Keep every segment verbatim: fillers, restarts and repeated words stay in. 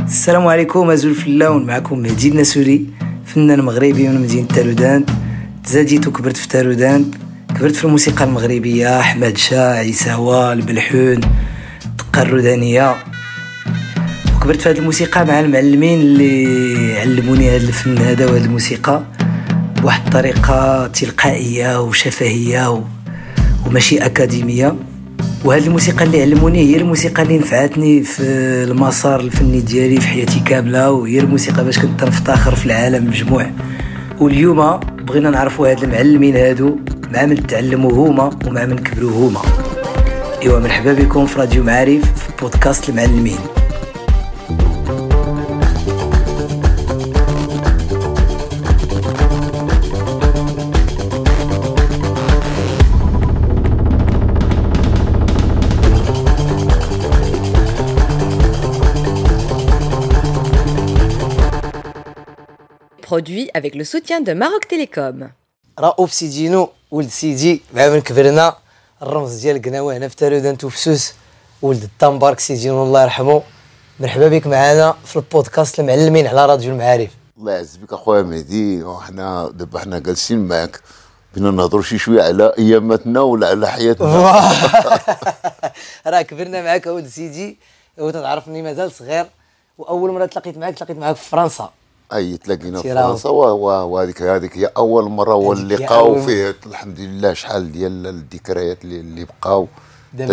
السلام عليكم ازول فلاون، معكم مهدي النسوري، فنان مغربي من مدينة تارودان. تزاديت وكبرت في تارودان، كبرت في الموسيقى المغربية، أحمد شاه، عيساوة، البلحون، الدقة الرودانية. وكبرت في هذه الموسيقى مع المعلمين اللي علموني هذا الفن هذا وهذه الموسيقى بواحد الطريقة تلقائية وشفهية و... وماشي أكاديمية. وهذه الموسيقى اللي علموني هي الموسيقى اللي نفعتني في المسار الفني ديالي في حياتي كاملة، وهي الموسيقى باش كنت نفتخر في العالم مجموع. واليوم بغينا نعرفوا هاد المعلمين هادو مع من تعلموا هما ومع من كبروا هما. ايوا مرحبا بكم في راديو معارف في بودكاست المعلمين. Produit avec le soutien de Maroc Télécom. رؤوف سيدينو ولد سيدي مع من كبرنا، الرمز ديال قناوه هنا في تارودان توفسوس، ولد الطنبارك سيدينو الله يرحمه. مرحبا بك معنا في البودكاست المعلمين على راديو المعارف. الله يعز بك اخويا مهدي، وحنا دابا حنا جالسين معاك بينا نهضروا شي شويه على اياماتنا ولا على حياتنا. راه كبرنا معاك ولد سيدي، وتتعرفني مازال صغير، واول مره تلاقيت معاك تلاقيت معاك في فرنسا. اي تلاقينا في فرنسا، وهذيك هذيك هي اول مره هو اللقاء، وفيه الحمد لله شحال ديال الذكريات اللي, اللي بقاو دابا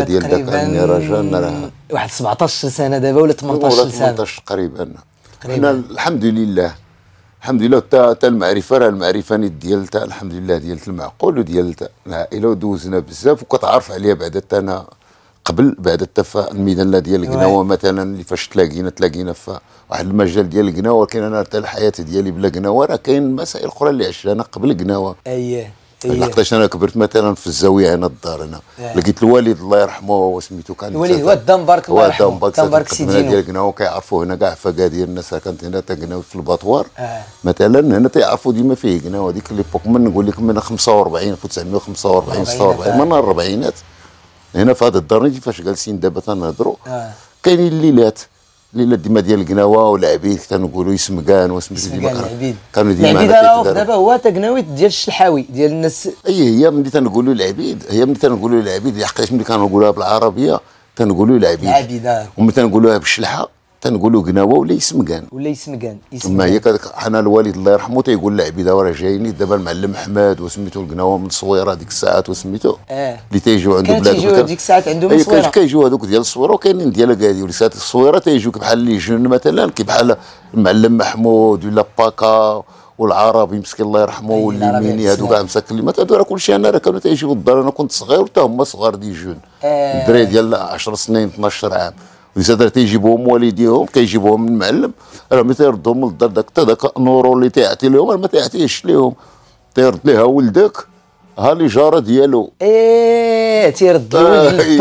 تقريبا واحد سبعطاش سنه دابا ولا ثمنطاش سنه، ثمنطاش تقريبا. حنا الحمد لله الحمد لله حتى المعرفه راه المعرفه نيت ديال تا الحمد لله ديال المعقول وديال العائله، ودوزنا بزاف وكتعرف عليها بعدا حتى انا قبل بعد التفا الميدان ديال القناوه مثلا اللي فاش تلاقينا تلاقينا في واحد المجال ديال القناوه، ولكن انا حتى الحياه ديالي بلا قناوه راه كاين مسائل اخرى اللي عشتها انا قبل القناوه. اييه لقيتاش انا كبرت مثلا في الزاويه هنا الدار هنا، لقيت الوالد الله يرحمه وسميتو كان الوالد هو الدنبارك الله يرحمه، الدنبارك سيدينو ديال القناوه كيعرفوا هنا كاع فكا ديال الناس كانت هنا تقناو في الباطوار. آه. مثلا هنا تيعرفوا ديما فيه قناوه هذيك ليبوك، من نقول لك من خمسة وأربعين ألف وتسعمائة وخمسة وأربعين ستة وأربعين من الاربعينات هنا في هذا الدار نجي فاش جالسين دابا تنهضروا. آه. كاينين الليلات الليلات ديما ديال القناوه والعبيد تنقولوا يسمكان وسميتو ديما العبيد. كانوا ديما العبيد راه دابا هو تقناوي ديال الشلحاوي ديال الناس. اي هي ملي تنقولوا العبيد، هي ملي تنقولوا العبيد حقاش ملي كنقولوها بالعربيه تنقولوا العبيد العبيد، وملي تنقولوها بالشلحه تنقولوا قناوه ولا يسمكان ولا يسمكان. ما هي حنا الوالد الله يرحمه تيقول العبيد راه جايين دابا المعلم احمد وسميتو القناوه من الصويره ديك الساعات وسميتو اه اللي تيجيو عنده بلاد تيجيو ديك الساعات عندهم من الصويره. كيجيو هذوك ديال الصويره وكاينين ديال كادي ولسات الصويره تيجيو بحال اللي جون مثلا كي بحال المعلم محمود ولا باكا والعربي مسكين الله يرحمه والليميني هذوك كاع مساكلمات هذو راه كلشي انا راه كانوا تيجيو للدار. انا كنت صغير وحتى هما صغار دي جون الدراري ديال عشر سنين اثناش عام، ولسات تيجيبوهم والديهم كيجيبوهم من المعلم راه ملي تيردهم للدار داك حتى داك النورو اللي تيعطي لهم ما تيعطيهش لهم، تيرد ليها ولدك ها لي جاره ديالو. ايه تيرد ولد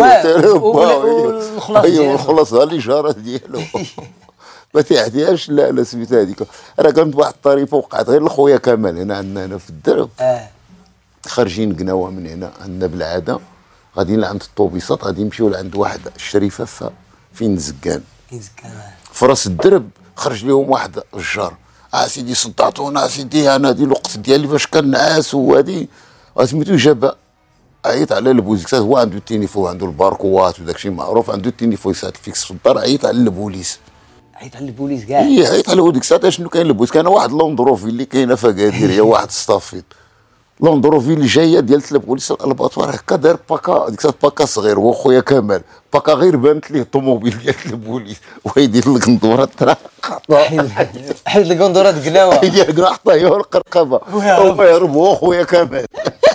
الخلاص ايوا الخلاص ها لي جاره ديالو ما تيعطيهاش. لا لا سميتها هذيك راه كانت واحد الطريفه وقعت غير لخويا كمال هنا عندنا هنا في الدرب. اه خارجين قناوه من هنا عندنا بالعاده غاديين لعند الطوبيسات غادي نمشيو لعند واحد الشريفه فين زكان في راس الدرب. خرج لهم واحد الجار اه سيدي صدعتونا سيدي انا هذه الوقت ديالي باش كنعاس وهذه سميتو جابا. عيط على البوليس، هو عنده التليفون عنده الباركوات وداك الشيء معروف، عنده التليفون يساعد فيكس في الدار. عيط على البوليس عيط على البوليس كاع اي عيط على ديك الساعه شنو كاين البوليس. كان واحد لوندروفي اللي كاينه في اكادير هي واحد ستافيت لوندروفي اللي جايه ديال البوليس الباطوار هكا دار باكا ديك الساعه باكا صغير هو خويا كمال باكا غير بانت ليه الطوموبيل ديال البوليس ويدير لك ندوره ترا حيد لك ندوره قناوه هي قناوه حطها هي القرقبه ويهرب هو خويا كمال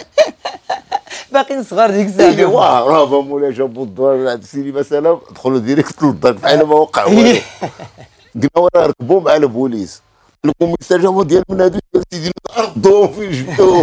باقيين صغار ديك الساعه. واه راه مولاي جابوا الدار عند سيدي مثلا دخلوا ديريكت للدار بحال ما وقع والو. قناوه راه ركبوا مع البوليس الكوميساريو ديال منادي ديال سيدي ردوهم فين جبتوهم.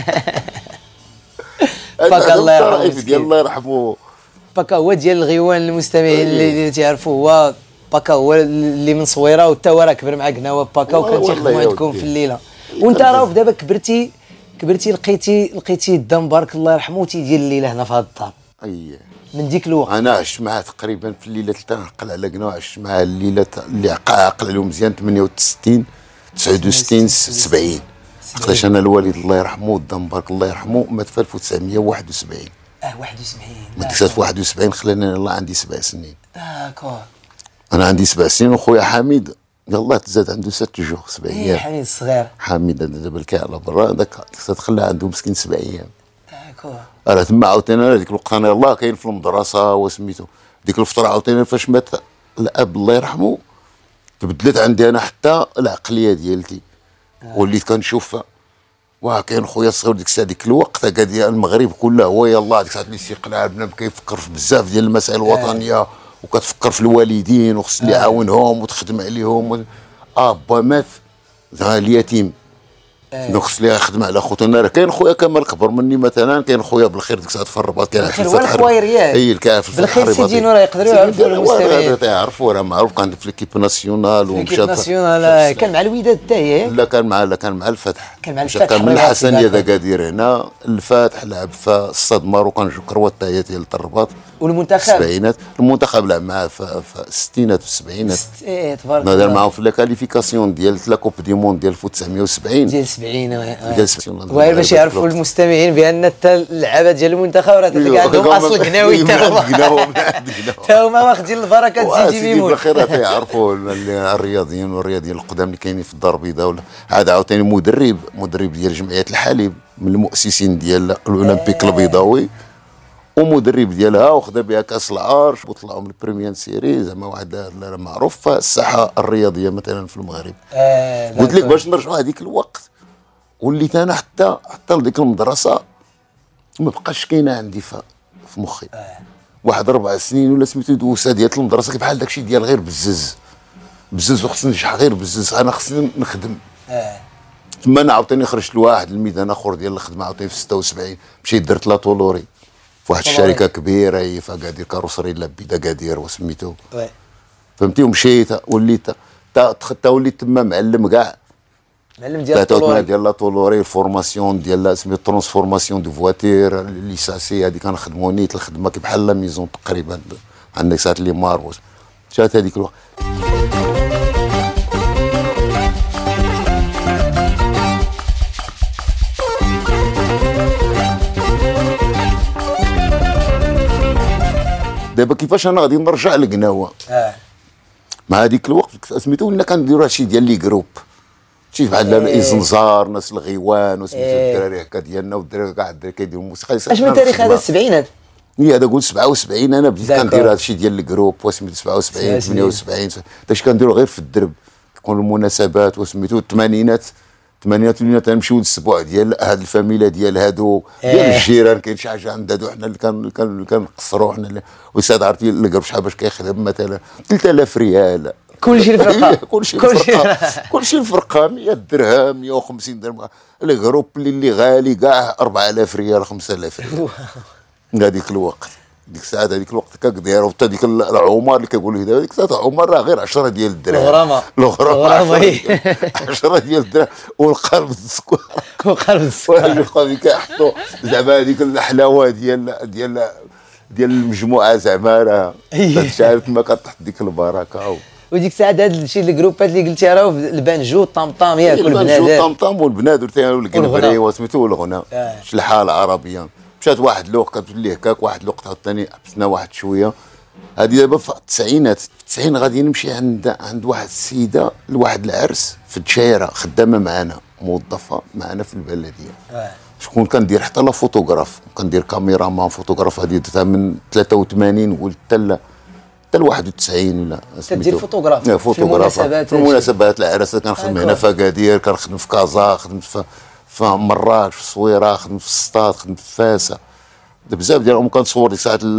باكا الله يرحمه ديال الله يرحمه. باكا هو ديال الغيوان المستمعين اللي تيعرفوا هو باكا هو اللي من صويره وحتى هو راه كبر مع قناوه باكا وكان تيخدموا عندكم في الليله. وانت راه دابا كبرتي كبرتي لقيتي لقيتي الدنبارك الله يرحمه تيدير الليله هنا في هذا الدار. اييه من ديك الوقت انا عشت معاه تقريبا في الليله تاع نقل على قنا، عشت معاه الليله اللي عقل عليهم مزيان ثمانية وستين تسعة وستين سبعين. علاش انا الوالد الله يرحمه ودام بارك الله يرحمه مات في ألف وتسعمية وواحد وسبعين. اه واحد وسبعين مات في واحد وسبعين، خلاني الله عندي سبع سنين. داكور. انا عندي سبع سنين وخويا حميد يلاه تزاد عنده ست شهور سبع ايام. ايه حميد الصغير حميد دابا الكاع على برا هذاك تخلى عنده مسكين سبع ايام. داكور. راه تما عاوتاني هذيك الوقت انا يلاه كاين في المدرسه وسميتو ديك الفتره عاوتاني فاش مات الاب الله يرحمه تبدلت عندي انا حتى العقليه ديالتي. وليت كنشوف واه كاين خويا الصغير ديك الساعه ديك الوقت قال المغرب كله هو يلاه ديك الساعه اللي استيقنا بنادم كيفكر في بزاف ديال المسائل الوطنيه وكتفكر في الوالدين وخص اللي يعاونهم وتخدم عليهم. اه با مات زعما اليتيم دونك خص لي يخدم على خوتو. انا راه كاين خويا كمال كبر مني مثلا، كاين خويا بالخير ديك الساعه في الرباط كان في الفتح الخويريات اي كان في بالخير سيدي نور يقدروا يعرفوا المستمعين يعرفوا راه معروف كان في ليكيب ناسيونال ومشى ليكيب ناسيونال كان مع الوداد حتى هي. لا كان مع لا كان مع الفتح كان مع الفتح كان من الحسنيه ذا قادير هنا الفتح لعب في الصاد ماروكان كروات حتى هي ديال الرباط والمنتخب السبعينات. المنتخب لعب معاه في الستينات والسبعينات. ايه تبارك الله. دار معاهم في لا كاليفيكاسيون ديال لا كوب دي موند ديال ألف وتسعمية وسبعين ديال سبعين. ديال سبعين وغير باش يعرفوا المستمعين بان حتى اللعابه ديال المنتخب راه تلقى عندهم اصل قناوي حتى هما حتى هما واخدين البركه سيدي ميمون. بالخير تيعرفوا الرياضيين والرياضيين القدام اللي كاينين في الدار البيضاء. ولا هذا عاوتاني مدرب مدرب ديال جمعيه الحليب من المؤسسين ديال الاولمبيك البيضاوي ومدرب ديالها وخذا بها كاس العرش وطلعوا من البريمير سيري. زعما واحد معروف في الساحه الرياضيه مثلا في المغرب. آه قلت لك باش نرجعوا هذيك الوقت وليت انا حتى حتى لديك المدرسه ما بقاش كاينه عندي في مخي. آه. واحد اربع سنين ولا سميتو دوسه ديال المدرسه بحال داكشي ديال غير بزز بزز وخصني نشحن غير بزز انا خصني نخدم. اه ثم انا عاوتاني خرجت لواحد الميدان اخر ديال الخدمه عاوتاني في ستة وسبعين مشيت درت لا طولوري في واحد الشركه كبيره هي في اكادير كاروسري لابيد اكادير وسميتو وي فهمتي. ومشيت وليت حتى وليت تما معلم كاع معلم ديال الطولوري ديال لا طولوري الفورماسيون ديال سميتو ترانسفورماسيون دو فواتير ليساسي هذيك كنخدموا نيت الخدمه كي بحال لا ميزون تقريبا عندك ساعات لي مار جات هذيك الوقت. دابا كيفاش انا غادي نرجع لقناوه اه مع هذيك الوقت سميتو ولا كنديروا هادشي ديال لي جروب شي بحال الازنزار ناس الغيوان وسميتو الدراري هكا ديالنا والدراري كاع الدراري كيديروا الموسيقى. اش من تاريخ هذا السبعينات؟ هي هذا قول سبعة وسبعين انا بديت كندير هادشي ديال الجروب وسميتو سبعة وسبعين ثمانية وسبعين داكشي كنديروا غير في الدرب تكون المناسبات وسميتو الثمانينات الثمانينات ولينا تنمشيو للسبوع ديال هاد الفاميله ديال هادو ديال الجيران كاين شي حاجه عند هادو حنا اللي كان كان كنقصروا حنا وساد عرفتي القرب شحال باش كيخدم مثلا ثلاثة آلاف ريال كلشي الفرقه كلشي الفرقه كلشي الفرقه مية درهم مية وخمسين درهم. الجروب اللي, اللي غالي كاع أربعة آلاف ريال خمسة آلاف ريال هذيك الوقت ديك الساعه هذيك الوقت كدير وحتى ديك العمر اللي كيقولوا دابا ديك الساعه عمر راه غير عشرة ديال الدراهم الغرامه الغرامه عشرة ديال الدراهم والقلب السكر وقلب السكر وقال كيحطوا زعما هذيك الحلاوه ديال ديال ديال المجموعه زعما راه شحال ما كتحط ديك البركه. وديك الساعه هاد الشيء الجروبات اللي قلتي راه البانجو الطمطام ياك والبنادر البانجو الطمطام والبنادر والقنبري وسميتو والغنى الحاله العربيه. مشات واحد الوقت كتولي هكاك واحد الوقت عاوتاني حبسنا واحد شويه. هذه دابا في التسعينات في التسعين غادي نمشي عند عند واحد السيده لواحد العرس في الدشايره خدامه معنا موظفه معنا في البلديه. اه شكون كندير حتى لا فوتوغراف كندير كاميرا مان فوتوغراف هذه درتها من ثلاثة وثمانين قلت حتى حتى ل واحد وتسعين ولا كدير فوتوغراف في المناسبات في المناسبات العراسات كنخدم هنا في اكادير كنخدم في كازا خدمت في في مراكش في الصويره خدمت في السطات خدمت في فاسا بزاف ديالهم كنصور ديك الساعات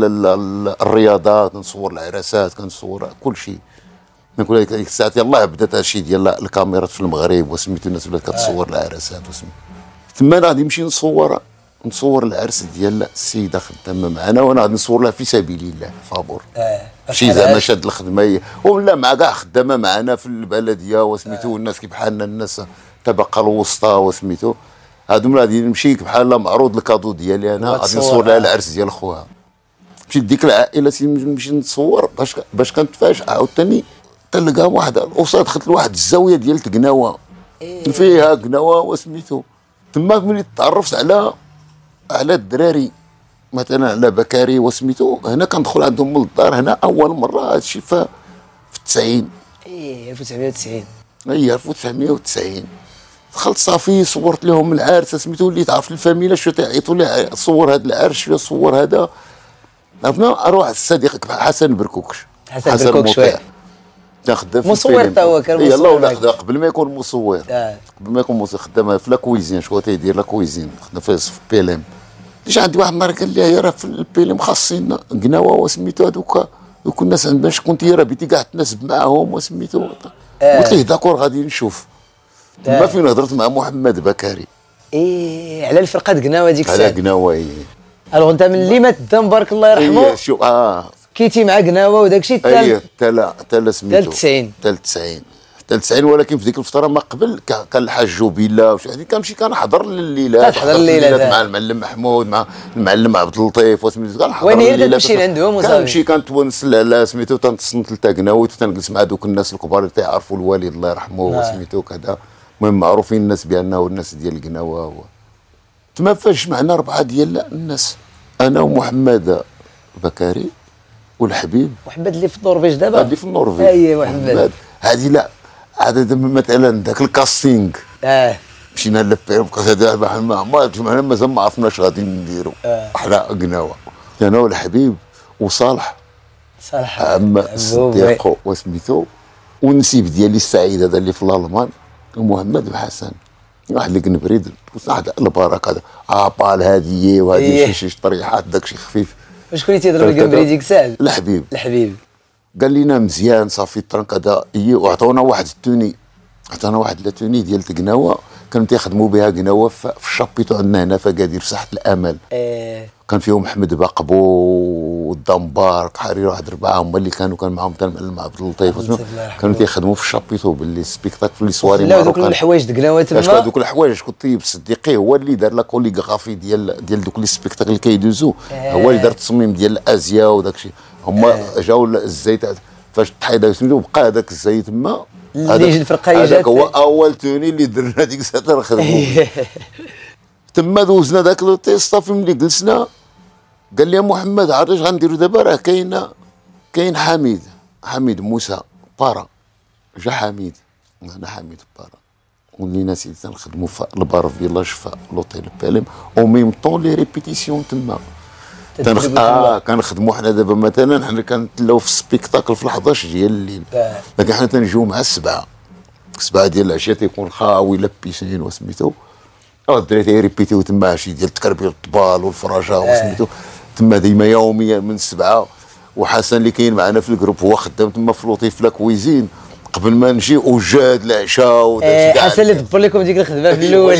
الرياضات كنصور العراسات كنصور كل شيء. نقول لك ديك الساعات يلاه بدات هادشي ديال الكاميرات في المغرب وسميتو الناس ولات كتصور العراسات وسميتو تما انا غادي نمشي نصور نصور العرس ديال السيده خدامه معنا وانا غادي نصور لها في سبيل الله فابور اه شي زعما شاد الخدمه ولا مع كاع خدامه معنا في البلديه وسميتو الناس كي بحالنا الناس الطبقه الوسطى وسميتو هادو غادي نمشي بحال معروض الكادو ديالي انا غادي نصور لها العرس ديال خوها مشيت ديك العائله نمشي نتصور باش باش كنتفاجئ عاوتاني تلقى واحد الاسره دخلت لواحد الزاويه ديال تقناوه إيه. فيها قناوه وسميتو تما ملي تعرفت على على الدراري مثلا على بكاري وسميتو هنا كندخل عندهم من الدار هنا اول مره هادشي في في التسعين ايه ألف وتسعمية وتسعين اي ألف وتسعمية وتسعين دخلت صافي صورت لهم العرس سميتو اللي تعرف الفاميله شو تعيطوا لي صور هذا العرس شو صور هذا عرفنا اروح الصديق حسن بركوكش حسن, حسن بركوكش شويه تخدم مصور تا هو كان مصور يلا ولا قبل ما يكون مصور آه. قبل ما يكون مصور خدام في لا كويزين شكون تيدير لا كويزين خدام في بيلم ليش عندي واحد النهار قال لي راه في البيلم خاصين قناوه وسميتو هذوك دوك الناس عندنا شكون تي راه بيتي كاع تناسب معاهم وسميتو آه. قلت ليه داكور غادي نشوف تما آه. فين هضرت مع محمد بكاري ايه على الفرقه قناوه ديك الساعه على قناوه ايه الوغ انت من اللي مات الدم بارك الله يرحمه ايه شوف اه كيتي مع قناوه وداك الشيء حتى ايه حتى حتى سميتو حتى تسعين حتى تسعين حتى تسعين ولكن في ديك الفتره ما قبل كان الحاج جوبيلا وش هذيك كنمشي كنحضر الليلات كنحضر الليلات مع المعلم محمود مع المعلم عبد اللطيف وسميتو كنحضر وين هي تمشي لعندهم وصافي كنمشي كنتونس على سميتو تنتصنت لتا قناوي وتنجلس مع دوك الناس الكبار اللي تيعرفوا الوالد الله يرحمه وسميتو كذا المهم معروفين الناس بانه الناس ديال قناوه تما فاش معنا اربعه ديال الناس انا ومحمد بكاري والحبيب محمد اللي في النرويج دابا اللي في النرويج اييه محمد هذه لا هذا مثلا ذاك الكاستينغ اه مشينا لفيهم هذا ما ما مازال ما عرفناش غادي نديروا حنا قناوه انا والحبيب وصالح صالح عم الصديق وسميتو والنسيب ديالي السعيد هذا اللي في الالمان ومحمد وحسن واحد اللي كنبريد واحد البركه هذا عابال هذه وهذه شي طريحات داكشي خفيف شكون اللي تيضرب الكمبري ديك الساعه الحبيب الحبيب قال لنا مزيان صافي الطرنك هذا اي وعطونا واحد التوني عطانا واحد التوني ديال تقناوه كانوا تيخدموا بها قناوه في الشابيطو عندنا هنا في اكادير في ساحه الامل ايه كان فيهم محمد باقبو والدمبار حرير واحد اربعه هما اللي كانوا كان معاهم حتى المعلم عبد اللطيف كانوا تيخدموا في الشابيطو باللي سبيكتاكل في لي سواري لا دوك الحوايج دقناوه تما دوك الحوايج كنت طيب صديقي هو اللي دار لا كوليغرافي ديال ديال دوك لي سبيكتاكل اللي كيدوزو هو اللي دار التصميم ديال الازياء وداك الشيء هما جاو الزيت فاش تحيد سميتو بقى هذاك الزيت تما اللي جا الفرقه جات هذاك هو اول توني اللي درنا ديك الساعه نخدموا تما دوزنا داك لو تيست صافي ملي جلسنا قال لي يا محمد عرفت اش غنديروا دابا راه كاين كاين حميد حميد موسى بارا جا حميد انا حميد بارا ولينا سيدي تنخدموا في البار فيلاج في لوطيل باليم او ميم طون لي ريبيتيسيون تما تنخ... اه كنخدموا حنا دابا مثلا حنا كنتلاو في السبيكتاكل في الحداش ديال الليل لكن حنا تنجيو مع السبعه السبعه ديال العشيه تيكون خاوي لابيسين وسميتو الدراري تيريبيتيو تما شي ديال تكربيل الطبال والفراشه وسميتو تما ديما يوميا من السبعه وحسن اللي كاين معنا في الجروب هو خدام تما في لوطيف في لا كويزين قبل ما نجي وجاد العشاء وداك الشيء حسن اللي دبر لكم ديك الخدمه في الاول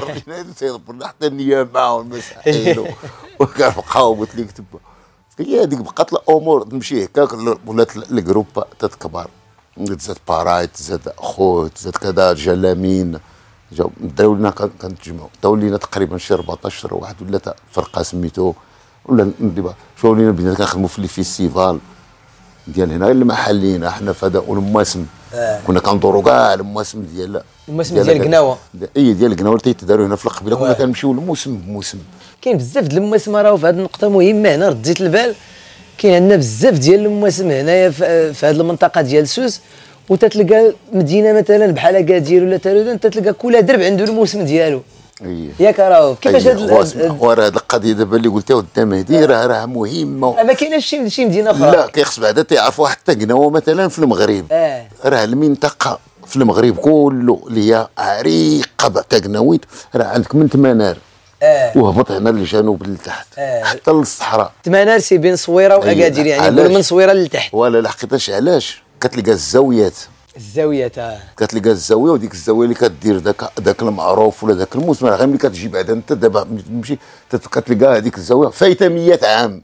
تيدبر حتى النيام معاهم المساحين وكنبقاو قلت لك تما هي هذيك بقات الامور تمشي هكاك ولات الجروب تتكبر تزاد بارايت تزاد خوت تزاد كذا جلامين جاو داو لنا كنتجمعوا داو لينا تقريبا شي أربعطاش واحد ولا فرقه سميتو ولا دابا شو لينا بدينا كنخدموا في لي فيستيفال ديال هنا المحليين حنا في هذا المواسم آه. كنا كندوروا كاع المواسم ديال المواسم ديال قناوه اي ديال قناوه اللي تيداروا هنا في القبيله كنا كنمشيو الموسم بموسم كاين بزاف ديال المواسم راهو في هذه النقطه مهمه هنا رديت البال كاين عندنا بزاف ديال المواسم هنايا في هذه المنطقه ديال سوس وتتلقى مدينه مثلا بحال اكادير ولا تارودان تتلقى كل درب عنده الموسم ديالو اييه ياك راهو كيفاش هاد وراه هاد القضيه دابا اللي قلتيها قدام هذه راه راه مهمه ما كايناش شي شي مدينه اخرى لا كيخص بعدا تعرفوا حتى قناوه مثلا في المغرب اه راه المنطقه في المغرب كله اللي هي عريقه تاع قناويت راه عندك من تمنار اه وهبط هنا للجنوب لتحت آه. حتى للصحراء تمنار سي بين صويره واكادير يعني نقول من صويره لتحت ولا لحقيتاش علاش كتلقى الزاويات الزاويات اه كتلقى الزاويه وديك الزاويه اللي كدير داك داك المعروف ولا داك الموسم غير ملي كتجي بعدا انت دابا تمشي كتلقى هذيك الزاويه فايته مية عام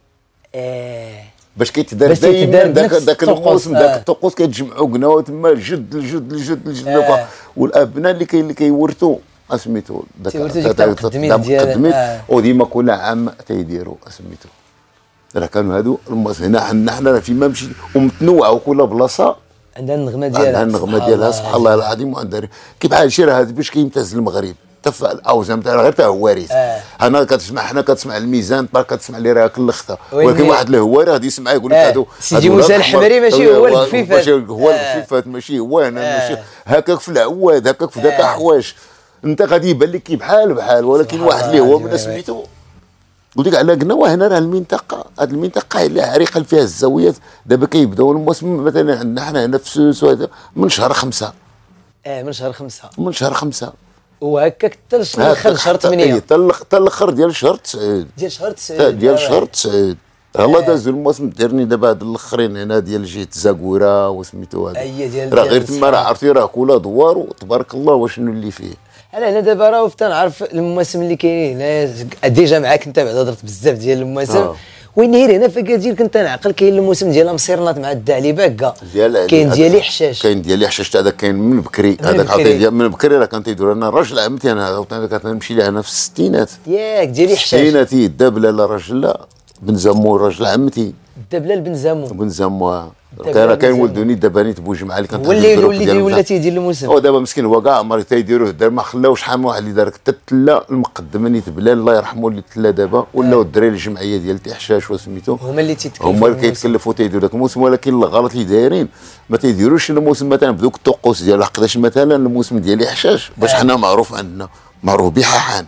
اه باش كيتدار دائما داك داك الموسم داك الطقوس كيتجمعوا قناوه تما جد الجد الجد الجد آه. والابناء اللي كاي اللي كيورثوا اسميتو داك التقدمين ديال وديما كل عام تيديروا اسميتو راه كانوا هادو المواس هنا حنا حنا فيما مشي ومتنوعه وكل بلاصه عندها النغمه ديالها عندها النغمه ديالها سبحان الله العظيم. وعندها كي بحال هادشي راه هذا باش كيمتاز المغرب تفع الاوزان تاع غير تاع هواريت. آه. انا كتسمع حنا كتسمع الميزان باك كتسمع اللي راه كلخته ولكن واحد الهواري غادي يسمع يقول لك آه. هادو سيدي موسى الحمري ماشي هو الكفيفات ماشي هو الكفيفات ماشي هو انا آه. ماشي هكاك في العواد هكاك في ذاك آه. حوايج انت غادي يبان لك كي بحال بحال ولكن واحد اللي هو من سميتو قلت لك على قناوه هنا راه المنطقه هذه المنطقه اللي عريقه فيها الزاويات دابا كيبداو الموسم مثلا عندنا حنا هنا في سوس وهذا من شهر خمسة. اه من شهر خمسة من شهر خمسة وهكاك حتى الاخر شهر ثمانية حتى الاخر ديال شهر تسعود ديال شهر تسعود ديال شهر تسعود الله دازو الموسم ديرني دابا هاد الاخرين هنا ديال جهه زاكوره وسميتو هذا راه غير تما راه عرفتي راه كولا دوار وتبارك الله واشنو اللي فيه. انا هنا دابا راه تنعرف المواسم اللي كاينين هنا ديجا معاك انت بعدا هضرت بزاف ديال المواسم آه. وين غير هنا في اكادير كنت نعقل كاين الموسم ديال مصيرنات مع الدعلي باكا كاين ديالي حشاش كاين ديالي حشاش هذاك كاين من بكري هذاك عطيه من بكري راه كان تيدور انا راجل عمتي انا كنمشي لها انا في الستينات ياك ديالي حشاش الستينات الدبله لا راجل لا بن زمو راجل عمتي الدبله بن زمو بن زمو كان كاين ولدوني دابا نيت بوجمعه اللي كانت ولي ولي ولا تيدير الموسم هو دابا مسكين هو كاع عمر تيديروه دار ما خلاوش شحال من واحد اللي دار حتى التله المقدمه نيت بلال الله يرحمه اللي تلا دابا ولاو الدراري الجمعيه ديال تحشاش وسميتو هما اللي تيتكلفوا هما اللي كيتكلفوا تيديروا داك الموسم ولكن الغلط اللي دايرين ما تيديروش الموسم مثلا بدوك الطقوس ديال حقاش مثلا الموسم ديال حشاش باش حنا معروف عندنا معروف بحاحان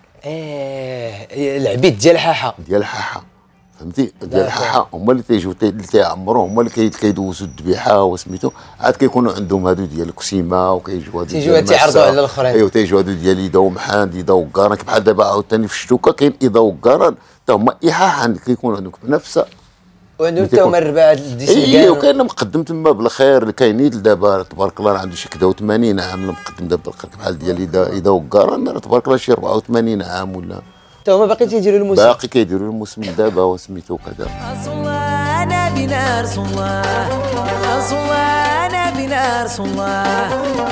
اه العبيد ديال حاحه ديال حاحه فهمتي ديال الحاحه هما اللي تيجيو اللي تيعمروا هما اللي كيدوزوا الذبيحه وسميتو عاد كيكونوا عندهم هادو ديال الكسيمه وكيجيو هادو تيجيو تيعرضوا على الاخرين ايوا تيجيو هادو ديال ايدا ومحان ايدا وكاران بحال دابا عاوتاني في الشتوكه كاين ايدا وكاران حتى هما ايحاحان كيكونوا عندهم بنفس وعندهم حتى هما الرباع ديال ايوا وكاين مقدم تما بالخير اللي كاينين دابا تبارك الله عنده شي كدا وثمانين عام مقدم دابا بحال ديال ايدا ايدا وكاران تبارك الله شي أربعة وثمانين عام ولا حتى هما باقي تيديروا الموسم باقي كيديروا الموسم دابا وسميتو كذا رسول الله نبينا رسول الله رسول الله نبينا رسول الله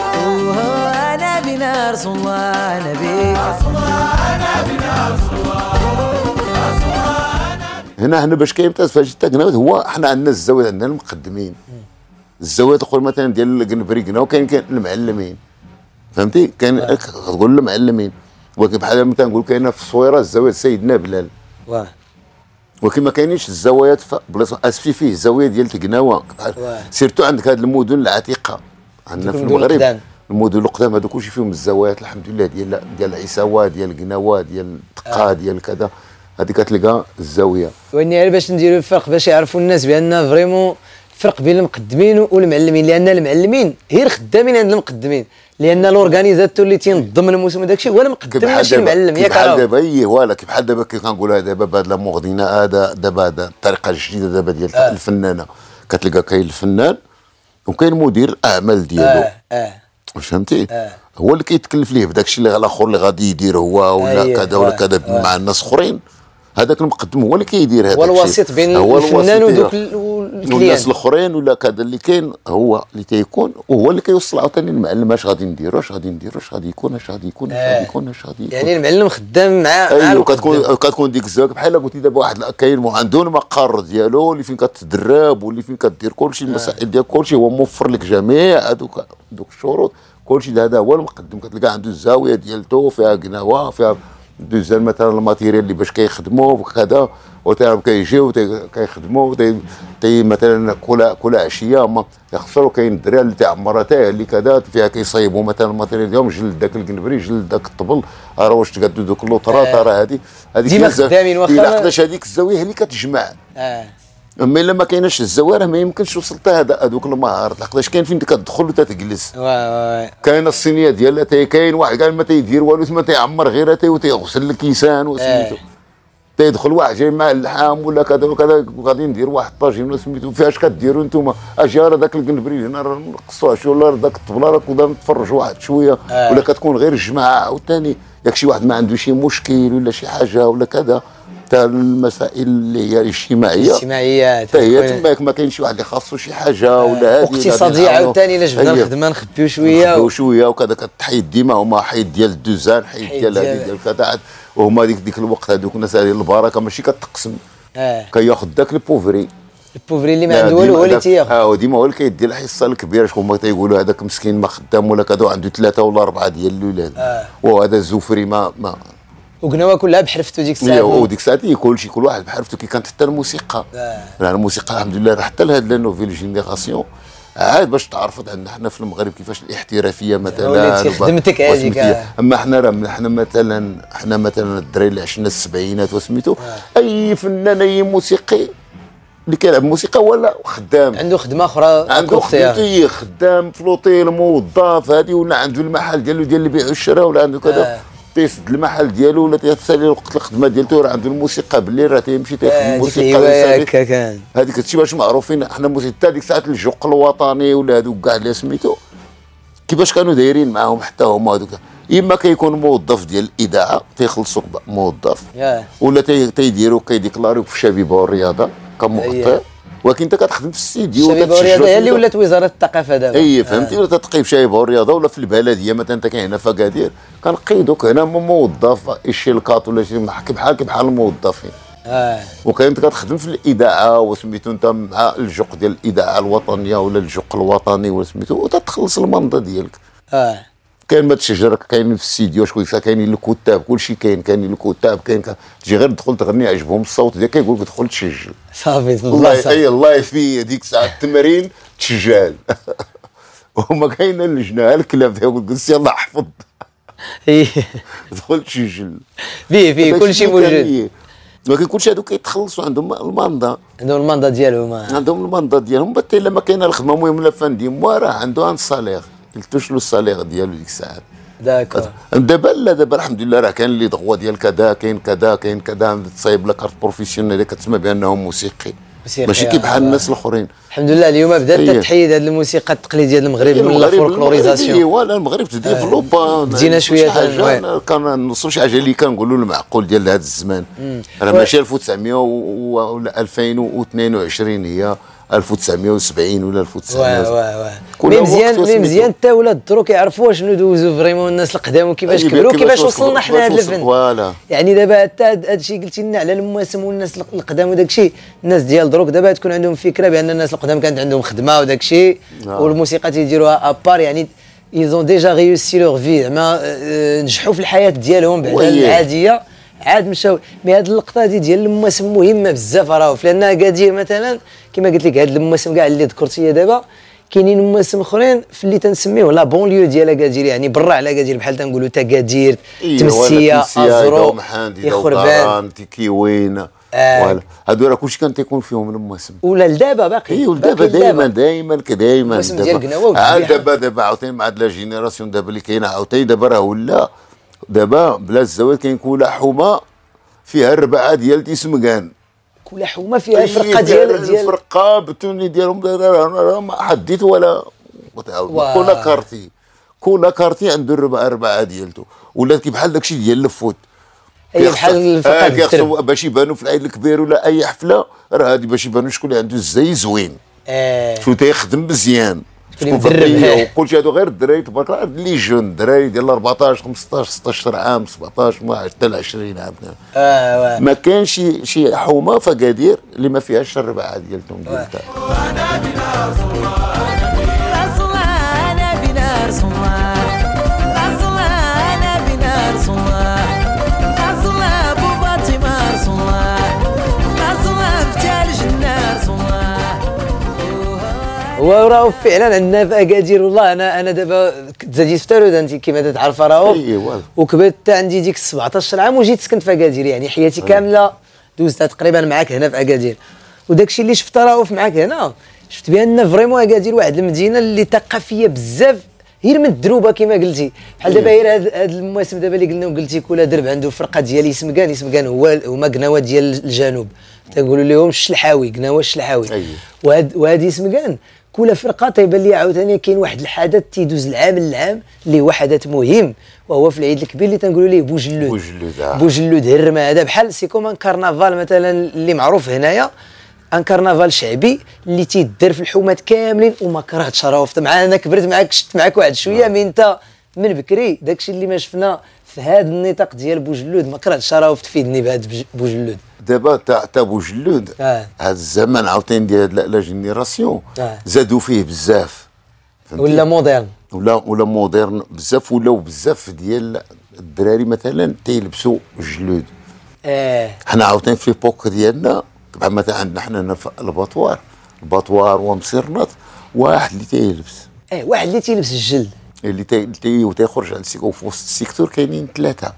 وهو نبينا رسول الله نبي رسول الله نبينا رسول الله هنا هنا باش كيمتاز فاش تاكنا هو حنا عندنا الزاويه عندنا المقدمين الزاويه تقول مثلا ديال القنبري كنا وكاين كاين المعلمين فهمتي كاين تقول المعلمين ولكن بحال ما تنقول كاينه في الصويره الزاويه سيدنا بلال واه ولكن ما كاينينش الزوايات بلاصه اسفي فيه الزاويه ديال تقناوه سيرتو عندك هذه المدن العتيقه عندنا في المغرب المدن القدام هذو كلشي فيهم الزوايات الحمد لله ديال ديال عيساوه ديال قناوه ديال تقا ديال كذا هذه كتلقى الزاويه واني باش نديروا الفرق باش يعرفوا الناس بان فريمون الفرق بين المقدمين والمعلمين لان المعلمين غير خدامين عند المقدمين لان الاورغانيزاتور اللي تينظم الموسم هذاك الشيء هو المقدم ماشي المعلم ياك بحال دابا هي ولا كيف بحال دابا كي كنقولها دابا بهاد لامور غدينا هذا دابا هذا الطريقه الجديده دابا ديال آه. الفنانه كتلقى كاين الفنان وكاين مدير الاعمال ديالو اه اه فهمتي آه. هو اللي كيتكلف ليه بداك الشيء اللي الاخر اللي غادي يدير هو ولا آه كذا ولا كذا آه. مع الناس اخرين هذاك المقدم هو اللي كيدير هذاك الشيء هو الوسيط بين الفنان ودوك الناس الاخرين ولا كذا اللي كاين هو اللي تيكون وهو اللي كيوصل عاوتاني المعلم اش غادي نديرو اش غادي نديرو اش غادي يكون اش غادي يكون اش غادي يكون اش غادي يكون يعني المعلم خدام مع ايوا كتكون كتكون ديك الزاويه بحال قلتي دابا واحد كاين عنده المقر ديالو اللي فين كتدرب واللي فين كدير كلشي المسائل ديال كلشي هو موفر لك جميع هذوك دوك الشروط كلشي هذا هو المقدم كتلقى عنده الزاويه ديالته فيها قناوه فيها دوزال مثلا الماتيريال اللي باش كيخدموا وكذا وتعرف كيجيو كيخدموا تي مثلا كل كل عشيه ما يخسروا كاين الدراري اللي تعمرها حتى اللي كذا فيها كيصايبوا مثلا الماتيريال ديالهم جلد داك القنبري جلد داك الطبل راه واش تقادوا دوك اللوطرات راه هذه هذيك ديما خدامين واخا لقداش هذيك الزاويه هي اللي كتجمع اه اما الا ما كايناش الزواره ما يمكنش وصلت هذا هذوك المهارات لقداش كاين فين كتدخل وتتجلس كاين الصينيه ديالها تاي كاين واحد كاع ما تيدير والو تما تيعمر غير تاي وتيغسل الكيسان وسميتو تيدخل واحد جاي مع اللحام ولا كذا وكذا وغادي ندير واحد طاجين سميتو فاش كديروا نتوما اجي راه داك القنبري هنا راه نقصوها شي ولا داك الطبله راه كنا نتفرجوا واحد شويه آه. ولا كتكون غير الجماعه عاوتاني ياك شي واحد ما عنده شي مشكل ولا شي حاجه ولا كذا حتى المسائل اللي هي الاجتماعيه الاجتماعيه حتى هي تماك ما كاينش واحد اللي خاصو شي حاجه ولا هذه اقتصاديه عاوتاني الا جبنا الخدمه نخبيو شويه نخبيو شويه وكذا كتحيد ديما هما حيد ديال الدوزان حيد ديال هذه ديال كذا وهما ديك ديك الوقت هذوك الناس هذه البركه ماشي كتقسم اه كياخذ داك البوفري البوفري اللي ما عنده والو هو اللي تياخذ. اه وديما هو اللي كيدي الحصه الكبيره. شكون ما تيقولوا هذاك مسكين ما خدام ولا كذا عنده ثلاثه ولا اربعه ديال الاولاد. اه وهذا الزفري ما ما وقناوه كلها بحرفته ديك الساعه. وديك الساعه كل شيء كل واحد بحرفته. كي كانت حتى الموسيقى آه. يعني الموسيقى الحمد لله راه حتى لهاد لا نوفيل جينيراسيون عاد باش تعرفت عندنا حنا في المغرب كيفاش الاحترافيه مثلا وليتي خدمتك هذيك. اما حنا راه حنا مثلا حنا مثلا الدراري اللي عشنا السبعينات وسميتو آه. اي فنان اي موسيقي اللي كيلعب موسيقى ولا خدام عنده خدمه اخرى عنده خدمته خدام في لوطيل موظف هذه ولا عنده المحل ديالو ديال البيع والشراء ولا عنده كذا آه. تيسد المحل ديالو ولا تيسالي وقت الخدمه ديالته راه عنده الموسيقى بالليل راه تيمشي تيخدم آه الموسيقى. هكا كان هذيك هادشي باش معروفين حنا موسيقى حتى ديك ساعه الجوق الوطني ولا هذوك كاع اللي سميتو كيفاش كانوا دايرين معاهم حتى هما هذوك. اما كيكون موظف ديال الاذاعه تيخلصوك موظف yeah. ولا تيديروا كيديكلاريو في الشبيبه والرياضه كمخطئ. ولكن انت كتخدم في الاستديو الشبيبه والرياضه هي اللي ولات وزاره الثقافه دابا. اي فهمتي ولا تتقي في شبيبه والرياضه ولا في البلديه مثلا انت كاين هنا في اكادير كنقيدوك هنا موظف الشيلكات ولا شي بحال بحال الموظفين. اه وكاين انت كتخدم في الاذاعه وسميتو انت مع الجوق ديال الاذاعه الوطنيه ولا الجوق الوطني وسميتو وتتخلص المنضه ديالك. اه كاين ما تشجر كاين في الاستديو شكون كاينين الكتاب كلشي كاين كاينين الكتاب كاين تجي غير تدخل تغني عجبهم الصوت ديالك كيقول لك دخل تسجل صافي الله اي الله في هذيك الساعه التمرين تسجل. وما كاين اللجنه الكلام تيقول لك يلاه حفظ دخل تسجل فيه فيه كلشي موجود. ولكن كلشي هذوك كيتخلصوا عندهم الماندا عندهم الماندا ديالهم عندهم الماندا ديالهم حتى الا ما كاينه الخدمه المهم لا فندي راه عنده ان صالير يلتوش له الصالير ديالو ديك الساعه. داكور دابا لا دابا الحمد لله راه كاين اللي ضغوا ديال كذا كاين كذا كاين كذا تصايب لك كارت بروفيسيونيل اللي كتسمى بانه موسيقي ماشي كي بحال الناس الاخرين. الحمد لله اليوم بدات تتحيد هذه الموسيقى التقليديه ديال المغرب من الفولكلوريزاسيون. ايوا المغرب تديفلوبا بدينا شويه حاجه كان نوصلوا شي حاجه اللي كنقولوا المعقول ديال هذا الزمان راه ماشي ألف وتسعمية ولا ألفين واثنين وعشرين هي ألف وتسعمية وسبعين ولا ألف وتسعمية. واه واه واه مزيان مي مزيان حتى ولاد الدرو كيعرفوا شنو دوزوا فريمون الناس القدام وكيفاش كبروا وكيفاش وصلنا حنا لهذا الفن. يعني دابا حتى هذا الشيء قلتي لنا على المواسم والناس القدام وداك الشيء الناس ديال دروك دابا تكون عندهم فكره بان الناس القدام كانت عندهم خدمه وداك الشيء والموسيقى تيديروها ابار يعني ايزون ديجا ريوسي لوغ في زعما نجحوا في الحياه ديالهم بعد العاديه عاد مشاو. مي هاد اللقطه هادي ديال المواسم مهمه بزاف راهو لان اكادير مثلا كما قلت لك هاد المواسم كاع اللي ذكرتي دابا كاينين مواسم اخرين في اللي تنسميوه لا بونليو ديال اكادير يعني برا على اكادير بحال تنقولوا تاكادير تمسيه ازرو يخربان تيكيوين فوالا هادو راه كلشي كان تيكون فيهم المواسم ولا لدابا باقي اي ولدابا دائما دائما كدائما الموسم ديال قناوه عاد دابا دابا عاوتاني مع هاد لا جينيراسيون دابا اللي كاينه عاوتاني دابا راه ولا دابا بلا الزواج كاين كولا حومه فيها الربعه ديال تيسمكان كولا حومه فيها فرقه ديال ديال الفرقه بتوني ديالهم ما حديت ولا كولا كارتي كولا كارتي عنده الربعه اربعه ديالته ولات كي بحال داكشي ديال الفوت اي بحال الفرقه كيخصو باش يبانوا في العيد الكبير ولا اي حفله راه هادي باش يبانوا شكون اللي عنده الزي زوين اه شو تيخدم مزيان وكلشي هادو غير الدراري تبارك الله اللي جون الدراري ديال أربعطاش خمسطاش ستطاش عام سبعطاش حتى ل عشرين عام اه ما كانش شي شي حومه في اكادير اللي ما فيهاش الربعه ديالتهم ديالتها. وراهو فعلا عندنا في اكادير والله انا انا دابا تزاديت في تارودان كيما تعرف راهو وكبرت حتى عندي ديك سبعطاش عام وجيت سكنت في اكادير يعني حياتي كامله دوزتها تقريبا معاك هنا في اكادير وداكشي اللي شفت راهو معاك هنا شفت بان فريمون اكادير واحد المدينه اللي ثقافيه بزاف غير من الدروبه كما قلتي بحال دابا غير هاد المواسم دابا اللي قلنا وقلتي كل درب عنده فرقه ديال يسمكان يسمكان هو هما قناوات ديال الجنوب تنقولوا لهم الشلحاوي قناوه الشلحاوي وهاد وهاد يسمكان كل فرقه تيبان لي عاوتاني كاين واحد الحدث تيدوز العام للعام اللي هو حدث مهم وهو في العيد الكبير اللي تنقولوا ليه بوجلود بوجلود بوجلود هرمه هذا بحال سي كوم ان كارنافال مثلا اللي معروف هنايا ان كارنافال شعبي اللي تيدار في الحومات كاملين وما كرهتش راه مع انا كبرت معاك شفت معاك واحد شويه مي انت من بكري داكشي اللي ما شفنا في هذا النطاق ديال بوجلود ما كرهتش راه تفيدني بهذا بوجلود دابا تاع تاع بوجلود آه. هذا الزمن عاوتاني ديال لا جينيراسيون آه. زادوا فيه بزاف ولا موديرن ولا ولا مودرن بزاف ولاو بزاف ديال الدراري مثلا تيلبسوا جلود. اه حنا عاوتاني في ليبوك ديالنا بحال مثلا عندنا حنا هنا في الباطوار الباطوار ومصيرنات واحد اللي تيلبس اه واحد اللي تيلبس الجلد اللي تي تي وتيخرج على السيكو في وسط السيكتور كاينين ثلاثه.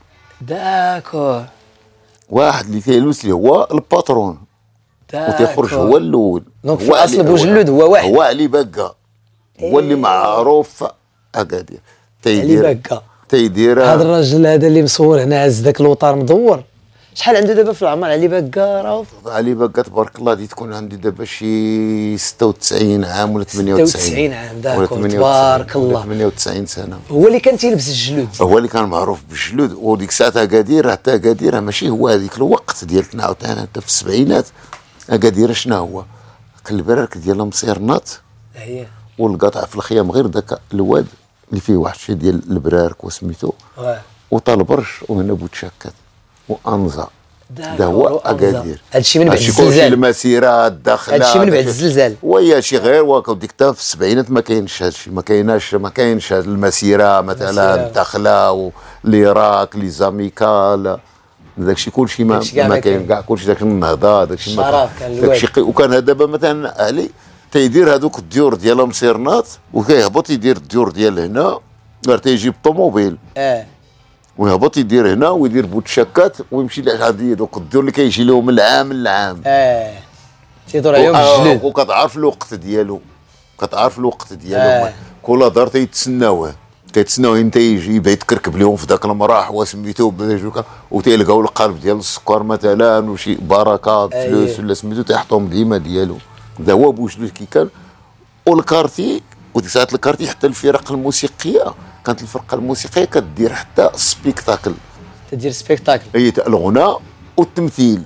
داكور واحد اللي تيلبس اللي هو الباترون وتيخرج هو الاول. دونك في اصل بوجلود هو واحد هو علي بقى هو اللي معروف اكادير تيدير علي بقى تيدير هذا الراجل هذا اللي مصور هنا عز ذاك الوطار مدور. شحال عنده دابا في العمر علي بقى؟ راه علي بقى تبارك الله دي تكون عندي دابا شي ستة وتسعين عام ولا ثمانية وتسعين ستة وتسعين عام داكور تبارك الله ثمانية وتسعين سنه. هو اللي كان تيلبس الجلود هو اللي كان معروف بالجلود. وديك الساعه اكادير حتى اكادير ماشي هو هذيك الوقت ديالنا عاوتاني حتى في السبعينات اكادير شنو هو البرارك ديال مصيرنات هي والقطع في الخيام غير ذاك الواد اللي فيه واحد الشيء ديال البرارك وسميتو وطال برش وهنا بوتشكات وانزا دا هو اكادير. هادشي من بعد الزلزال الزلزال المسيره الداخله هادشي من بعد الزلزال ويا شي غير واك ديك تا في السبعينات ما كاينش هادشي ما كايناش ما كاينش هاد المسيره مثلا الداخله والعراق لي زاميكال داكشي كلشي ما ما كاين كاع كلشي داك النهضه داكشي ما داكشي وكان دابا مثلا علي تيدير هذوك الديور ديال مصيرنات وكيهبط يدير الديور ديال هنا غير تيجيب طوموبيل اه ويهبط يدير هنا ويدير بوتشاكات ويمشي لهاد دوك الديور اللي كيجي لهم من العام للعام اه تيدور عليهم الجلود وكتعرف الوقت ديالو كتعرف الوقت ديالو آه. كل دار تيتسناوه كيتسناو انت يجي يبدا يتكركب لهم في ذاك المراح وسميتو وتيلقاو القالب ديال السكر مثلا وشي بركات فلوس ولا سميتو تيحطهم ديما ديالو. هذا هو بوجلود كي كان. والكارتي وديك الساعات الكارتي حتى الفرق الموسيقيه كانت الفرقه الموسيقيه كدير حتى سبيكتاكل تدير سبيكتاكل هي الغناء والتمثيل.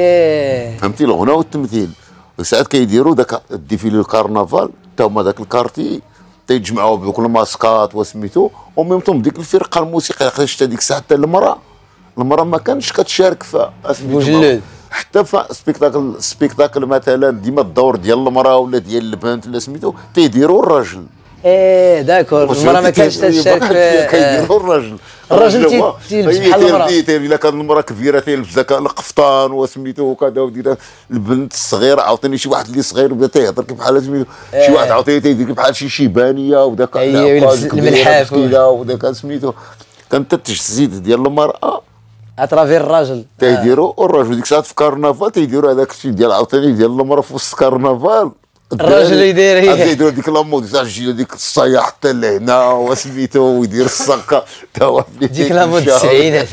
ايه فهمتي الغناء والتمثيل. ساعات كيديروا داك الديفيلي الكارنفال حتى هما داك الكارتي تيجمعوا بدوك الماسكات وسميتو وميمتهم ديك الفرقه الموسيقيه خرجت هذيك الساعه حتى المراه المراه ما كانش كتشارك في بوجلود حتى في سبيكتاكل سبيكتاكل مثلا ديما الدور ديال المراه ولا ديال البنت ولا سميتو تيديروا الراجل. ايه داكور المراه ما كانش تشارك كيديروا الراجل الراجل تيلبس بحال المراه الا كانت المراه كبيره تيلبس ذاك القفطان وسميتو وكذا ودير البنت الصغيره عاوتاني شي واحد اللي صغير بدا تيهضر بحال سميتو شي واحد عاوتاني تيدير بحال شي شيبانيه وداك الملحاف وداك سميتو كانت التجسيد ديال المراه اترافير الراجل تيديروا الراجل ديك الساعه في كارنفال تيديروا هذاك الشيء ديال عاوتاني ديال المراه في وسط كارنفال الراجل يدير هي يدير ديك لامود تاع ديك الصياح حتى لهنا وسميتو ويدير الصقه تا هو ديك لامود التسعينات.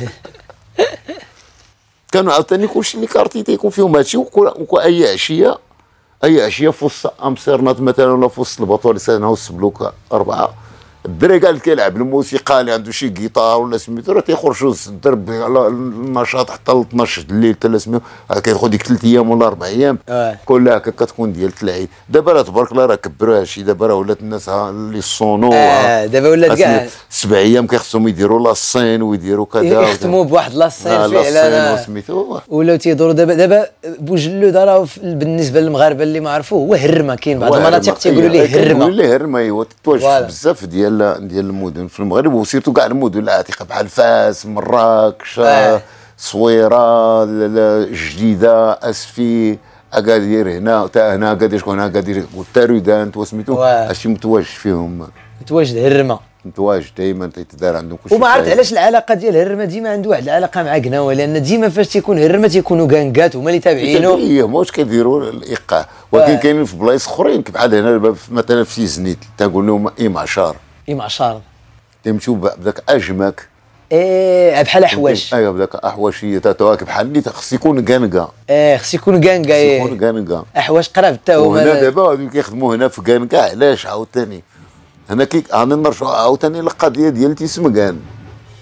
كانوا عاوتاني كلشي اللي كارتي تيكون فيهم هادشي واي عشيه اي عشيه في وسط امستردام مثلا ولا في وسط البطول سنه وسط بلوك اربعه الدري قال كيلعب الموسيقى اللي عنده شي جيتار ولا سميتو راه تيخرجوا الدرب على النشاط حتى ل اثناش د الليل حتى سميتو كياخذ ديك ثلاث ايام ولا اربع ايام كلها هكا كتكون ديال العيد. دابا راه تبارك الله راه كبروا هادشي دابا راه ولات الناس اللي الصونو اه دابا ولات كاع سبع ايام كيخصهم يديروا لاسين ويديروا كذا يختموا بواحد لاسين فعلا سميتو ولاو تيدوروا دابا دابا بوجلود راه بالنسبه للمغاربه اللي ما عرفوه هو هرمه. كاين بعض المناطق تيقولوا ليه هرمه تيقولوا ليه هرمه ايوا تتواجد بزاف ديال ديال المدن في المغرب وسيرتو كاع المدن العتيقه بحال فاس مراكش آه. صويره الجديده اسفي اكادير هنا حتى هنا اكادير شكون هنا اكادير والتارودان وسميتو هادشي متواجد فيهم متواجد هرمه متواجد دائما تيتدار عندهم كلشي. وما عرفت علاش العلاقه ديال هرمه ديما عنده واحد العلاقه مع قناوه لان ديما فاش تيكون هرمه تيكونوا كانكات هما اللي تابعينه ايه واش كيديروا الايقاع ولكن كاينين في بلايص اخرين بحال هنا مثلا في زنيت تنقول لهم اي معشار اي معشار تيمشيو بداك اجمك ايه بحال احواش ايوا بداك احواشيه تواكب بحال اللي خص يكون كانكا ايه خص يكون كانكا ايه خص يكون كانكا احواش قراب حتى هما هنا دابا هادو كيخدموا هنا في كانكا علاش عاوتاني هنا كي انا نرجعوا عاوتاني للقضيه ديال تيسمكان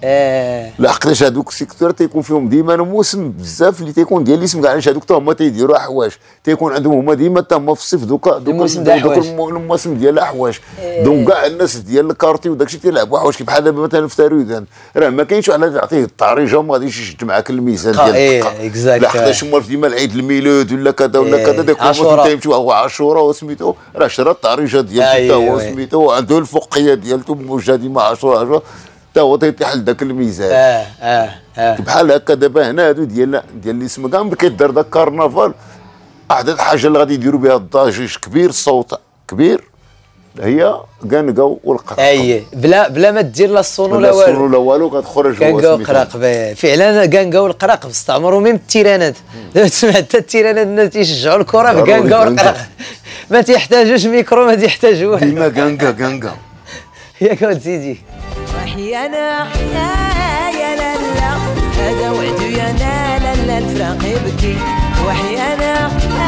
اه لحقاش هذوك السيكتور تيكون فيهم ديما موسم بزاف اللي تيكون ديال الاسم كاع علاش هذوك حتى هما تيديروا حوايج تيكون عندهم هما ديما حتى هما في الصيف دوكا الموسم ديال الحوايج الموسم ديال الحوايج دونك كاع الناس ديال الكارتي وداكشي تيلعبوا حوايج كي بحال دابا مثلا في تارودان راه ما كاينش على تعطيه الطريجه وما غاديش يشد معاك الميزان ديال الدقه لحقاش هما ديما العيد الميلود ولا كذا ولا كذا داك الموسم تيمشيو هو عاشوراء وسميتو راه شرا الطريجه ديالته هو سميتو عنده الفوقيه ديالته موجه ديما عاشوراء حتى هو تيحل ذاك الميزان اه اه اه بحال هكا دابا هنا هادو ديال ديال اللي اسم كاع ملي كيدار داك الكارنفال احد الحاجه اللي غادي يديروا بها الضجيج كبير الصوت كبير هي كانكاو والقراق اي بلا بلا ما دير لا الصون ولا والو الصون ولا والو كتخرج كانكاو والقراق فعلا كانكاو والقراق استعمروا ميم التيرانات دابا تسمع حتى التيرانات الناس تيشجعوا الكره بكانكاو والقراق ما تيحتاجوش ميكرو ما تيحتاجوش ديما كانكا كانكا ياك ولد سيدي وحيانا يا لا لا هذا وعد يا لا لا لا الفراق يبكي وحيانا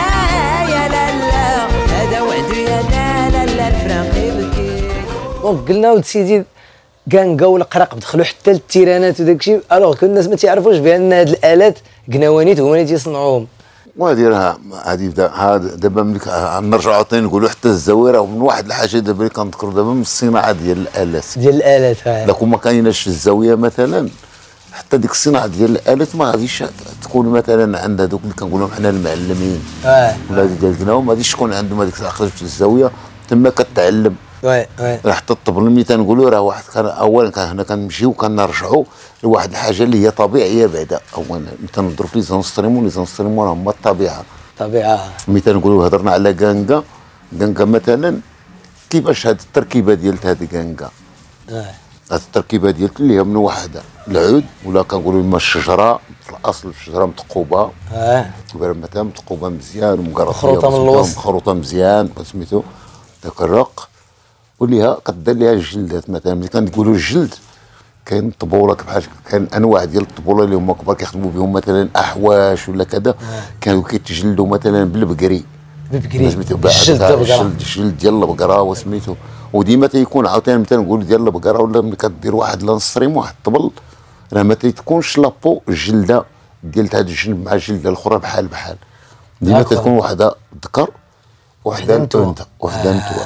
يا لا لا هذا وعد يا لا لا لا الفراق يبكي. دونك قلنا ولد سيدي كانكا والقراق دخلوا حتى للتيرانات وداك الشيء الوغ كل الناس ما تعرفوش بان هاد الالات قنوانيت هما اللي تيصنعوهم وهادي راه هادي هذا دابا ملي نرجعوا عاوتاني نقولوا حتى الزويره من واحد الحاجه دابا اللي كنذكروا دابا من الصناعه ديال الالات ديال الالات ها لكن ما كايناش الزاويه مثلا حتى ديك الصناعه ديال الالات ما غاديش تكون مثلا عند هذوك اللي كنقولوا حنا المعلمين اه ولا ديال القناوه ما غاديش تكون عندهم هذيك العقل في الزاويه تما كتعلم وي وي راه حتى الطبل ملي تنقولوا راه واحد كان اولا كان هنا كنمشيو كنرجعوا لواحد الحاجه اللي هي طبيعيه بعدا اولا تنهضروا في لي زونستريمون لي زونستريمون هما الطبيعه طبيعه ملي تنقولوا هضرنا على كانكا كانكا مثلا كيفاش هذه التركيبه ديال هذه كانكا اه هذه التركيبه ديال اللي هي من واحد العود ولا كنقولوا لما الشجره في الاصل الشجره متقوبه اه مثلا متقوبه مزيان ومقرطيه مخروطه من الوسط مخروطه مزيان سميتو داك الرق وليها كدير ليها الجلدات مثلا ملي كنقولوا الجلد كاين الطبوله بحال كاين انواع ديال الطبوله اللي هما كبار كيخدموا بهم مثلا احواش ولا كذا كانوا كيتجلدوا مثلا بالبقري بالبقري سميتو الجلد البقره الجلد ديال البقره وسميتو وديما تيكون عاوتاني مثلا نقول ديال البقره ولا ملي كدير واحد لانستريم واحد الطبل راه ما تيكونش لابو الجلده ديال هذا الجنب مع الجلده الاخرى بحال بحال ديما تكون وحده ذكر وحده انثى وحده انثى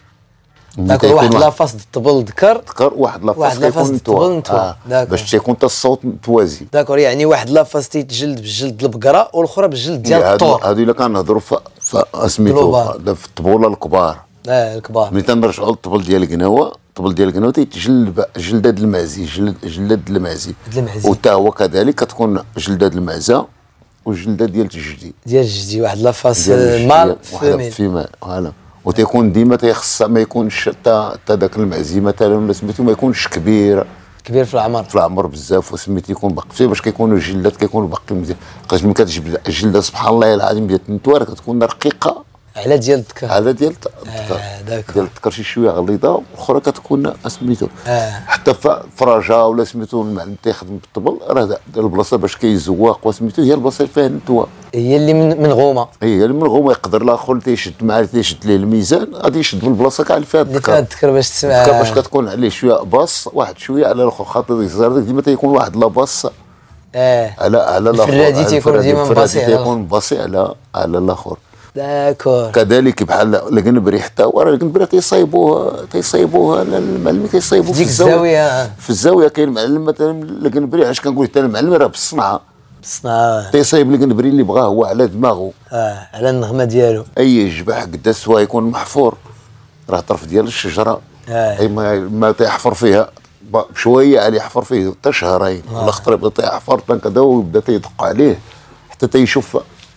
داك واحد لافاس الطبل ذكر ذكر واحد لافاس كيكون الطبل آه. باش تيكون حتى الصوت متوازي داكور يعني واحد لافاس تيتجلد بالجلد البقره والاخرى بالجلد ديال الطور هادو الا كنهضروا في سميتو في الطبوله الكبار اه الكبار ملي تنرجعوا للطبل ديال القناوه الطبل ديال القناوه تيتجلد جلداد المعزي جلد جلداد المعزي وتا هو كذلك كتكون جلداد المعزه والجلداد ديال الجدي ديال الجدي واحد لافاس مال فيميل فيميل فوالا وتيكون ديما تيخص ما يكونش حتى حتى داك المعزي مثلا ولا سميتو ما يكونش كبير كبير في العمر في العمر بزاف وسميتو يكون باقي فيه باش كيكونوا الجلدات كيكونوا باقي مزيان لقيت ملي كتجبد الجلده سبحان الله العظيم ديال النتوار كتكون رقيقه على ديال الذكر على ديال الذكر آه ديال الذكر شي شويه غليظه والاخرى كتكون سميتو آه. حتى فراجه ولا سميتو المعلم تيخدم بالطبل راه البلاصه باش كيزواق وسميتو هي البلاصه اللي فيها النتوى هي اللي من من غومه هي اللي من غومه يقدر الاخر تيشد معاه تيشد ليه الميزان غادي يشد من البلاصه كاع اللي فيها الذكر الذكر باش تسمع باش كتكون عليه شويه باص واحد شويه على الاخر خاطر الزهر ديما تيكون واحد لا باص اه على على الاخر الفرادي تيكون ديما باصي تيكون باصي على على الاخر داكور كذلك بحال القنبري حتى وراه القنبري تيصايبوه تيصايبوه المعلم تيصايبوه في الزاويه في الزاويه كاين معلم مثلا القنبري علاش كنقول حتى المعلم راه بالصنعه بالصنعه تيصايب القنبري اللي بغاه هو على دماغه اه على النغمه ديالو اي جبح قدا سوا يكون محفور راه طرف ديال الشجره آه. اي ما, ما تيحفر فيها بشويه عليه يحفر فيه حتى شهرين آه. ولا خطر يبدا تيحفر كذا ويبدا تيدق عليه حتى تيشوف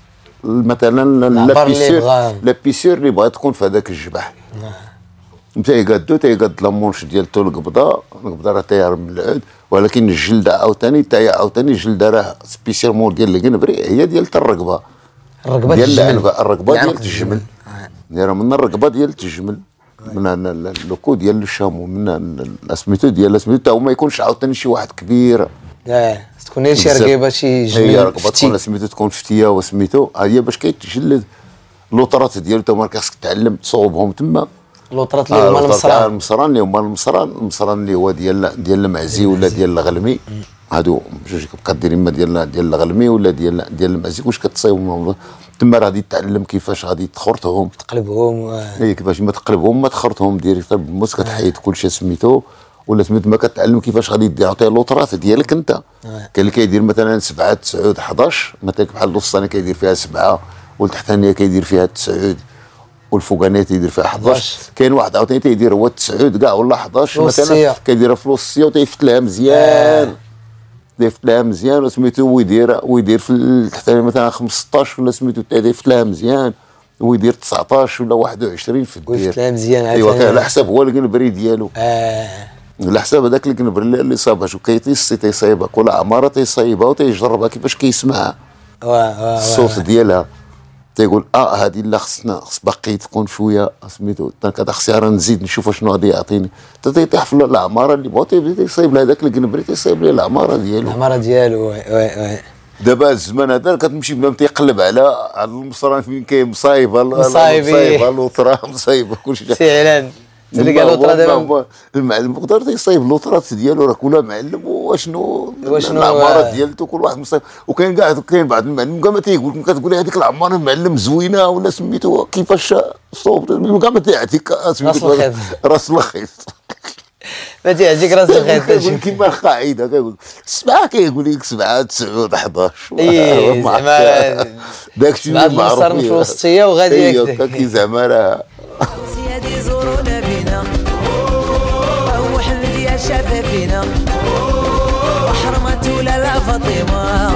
مثلا لابيسير لابيسير اللي بغات تكون في هذاك الجبح تيقادو تيقاد لامونش ديالته القبضه القبضه راه تاير من العود ولكن الجلده عاوتاني تاهي عاوتاني الجلده راه سبيسيالمون ديال القنبري هي ديال الرقبه الرقبه ديال العنبه الرقبه ديال الجمل راه من الرقبه ديال الجمل من اللوكو ديال الشامو من سميتو ديال سميتو تا هو ما يكونش عاوتاني شي واحد كبير اه تكون شي رقيبه شي جمل هي رقبه تكون سميتو تكون فتيه وسميتو هي باش كيتجلد اللوطرات ديالو تا ما خاصك تعلم تصوبهم تما لوطرات اللي هما المصران المصران اللي هما المصران المصران اللي هو ديال ديال المعزي ولا ديال الغلمي، هادو جوج كتبقى دير اما ديال ديال الغلمي ولا ديال ديال المعزي. واش كتصايبهم تما راه غادي تتعلم كيفاش غادي تخرطهم تقلبهم و... اي كيفاش ما تقلبهم ما تخرطهم ديريكت بالموس، كتحيد كلشي سميتو ولا سميتو ما كتعلم كيفاش غادي تعطيه اللوطرات ديالك انت. كاين اللي كيدير مثلا سبعة تسعود حداش، مثلا بحال الوسطاني كيدير فيها سبعة والتحتانيه كيدير فيها تسعود والفوقانيه تيدير فيها حداش. كاين واحد عاوتاني تيدير هو تسعود كاع ولا حداش مثلا كيديرها في الوسطيه وتيفتلها مزيان آه. تيفتلها مزيان وسميتو ويدير ويدير في التحتانيه مثلا خمسطاش ولا سميتو تيفتلها مزيان ويدير تسعطاش ولا واحد وعشرين في الدير ويفتلها مزيان. ايوا على حساب هو القنبري ديالو اه على حساب هذاك القنبر اللي صابها شو كيتيسي تيصايبها كل عماره تيصايبها وتيجربها كيفاش كيسمعها واه الصوت ديالها تيقول اه هذه لا خصنا خص باقي تكون شويه سميتو كذا خصني راه نزيد نشوف شنو غادي يعطيني تيطيح في العماره اللي بغا تيصايب لها هذاك القنبري تيصايب ليه العماره ديالو العماره ديالو وي وي. دابا الزمان هذا كتمشي بنادم تيقلب على على المصران فين كاين مصايبه مصايبه اللوطرا مصايبه كلشي فعلا تلقى اللوطرا دابا المعلم يقدر تيصايب اللوطرات ديالو راه كل معلم واشنو واشنو العماره ديالته كل واحد مصايب. وكاين كاع كاين بعض المعلم كاع ما تيقول كتقول لي هذيك العماره المعلم زوينه ولا سميتو كيفاش صوب كاع ما تيعطيك سميتو راس الخيط ما تيعجيك راس الخيط كيقول كيما القاعده كيقول سبعه كيقول لك سبعه تسعود حداش اي زعما داكشي اللي معروف بعض في الوسطيه وغادي هكا كي زعما راه سيادي زورونا بينا وحمد يا شفافينا وحرمت ولا لا فاطمه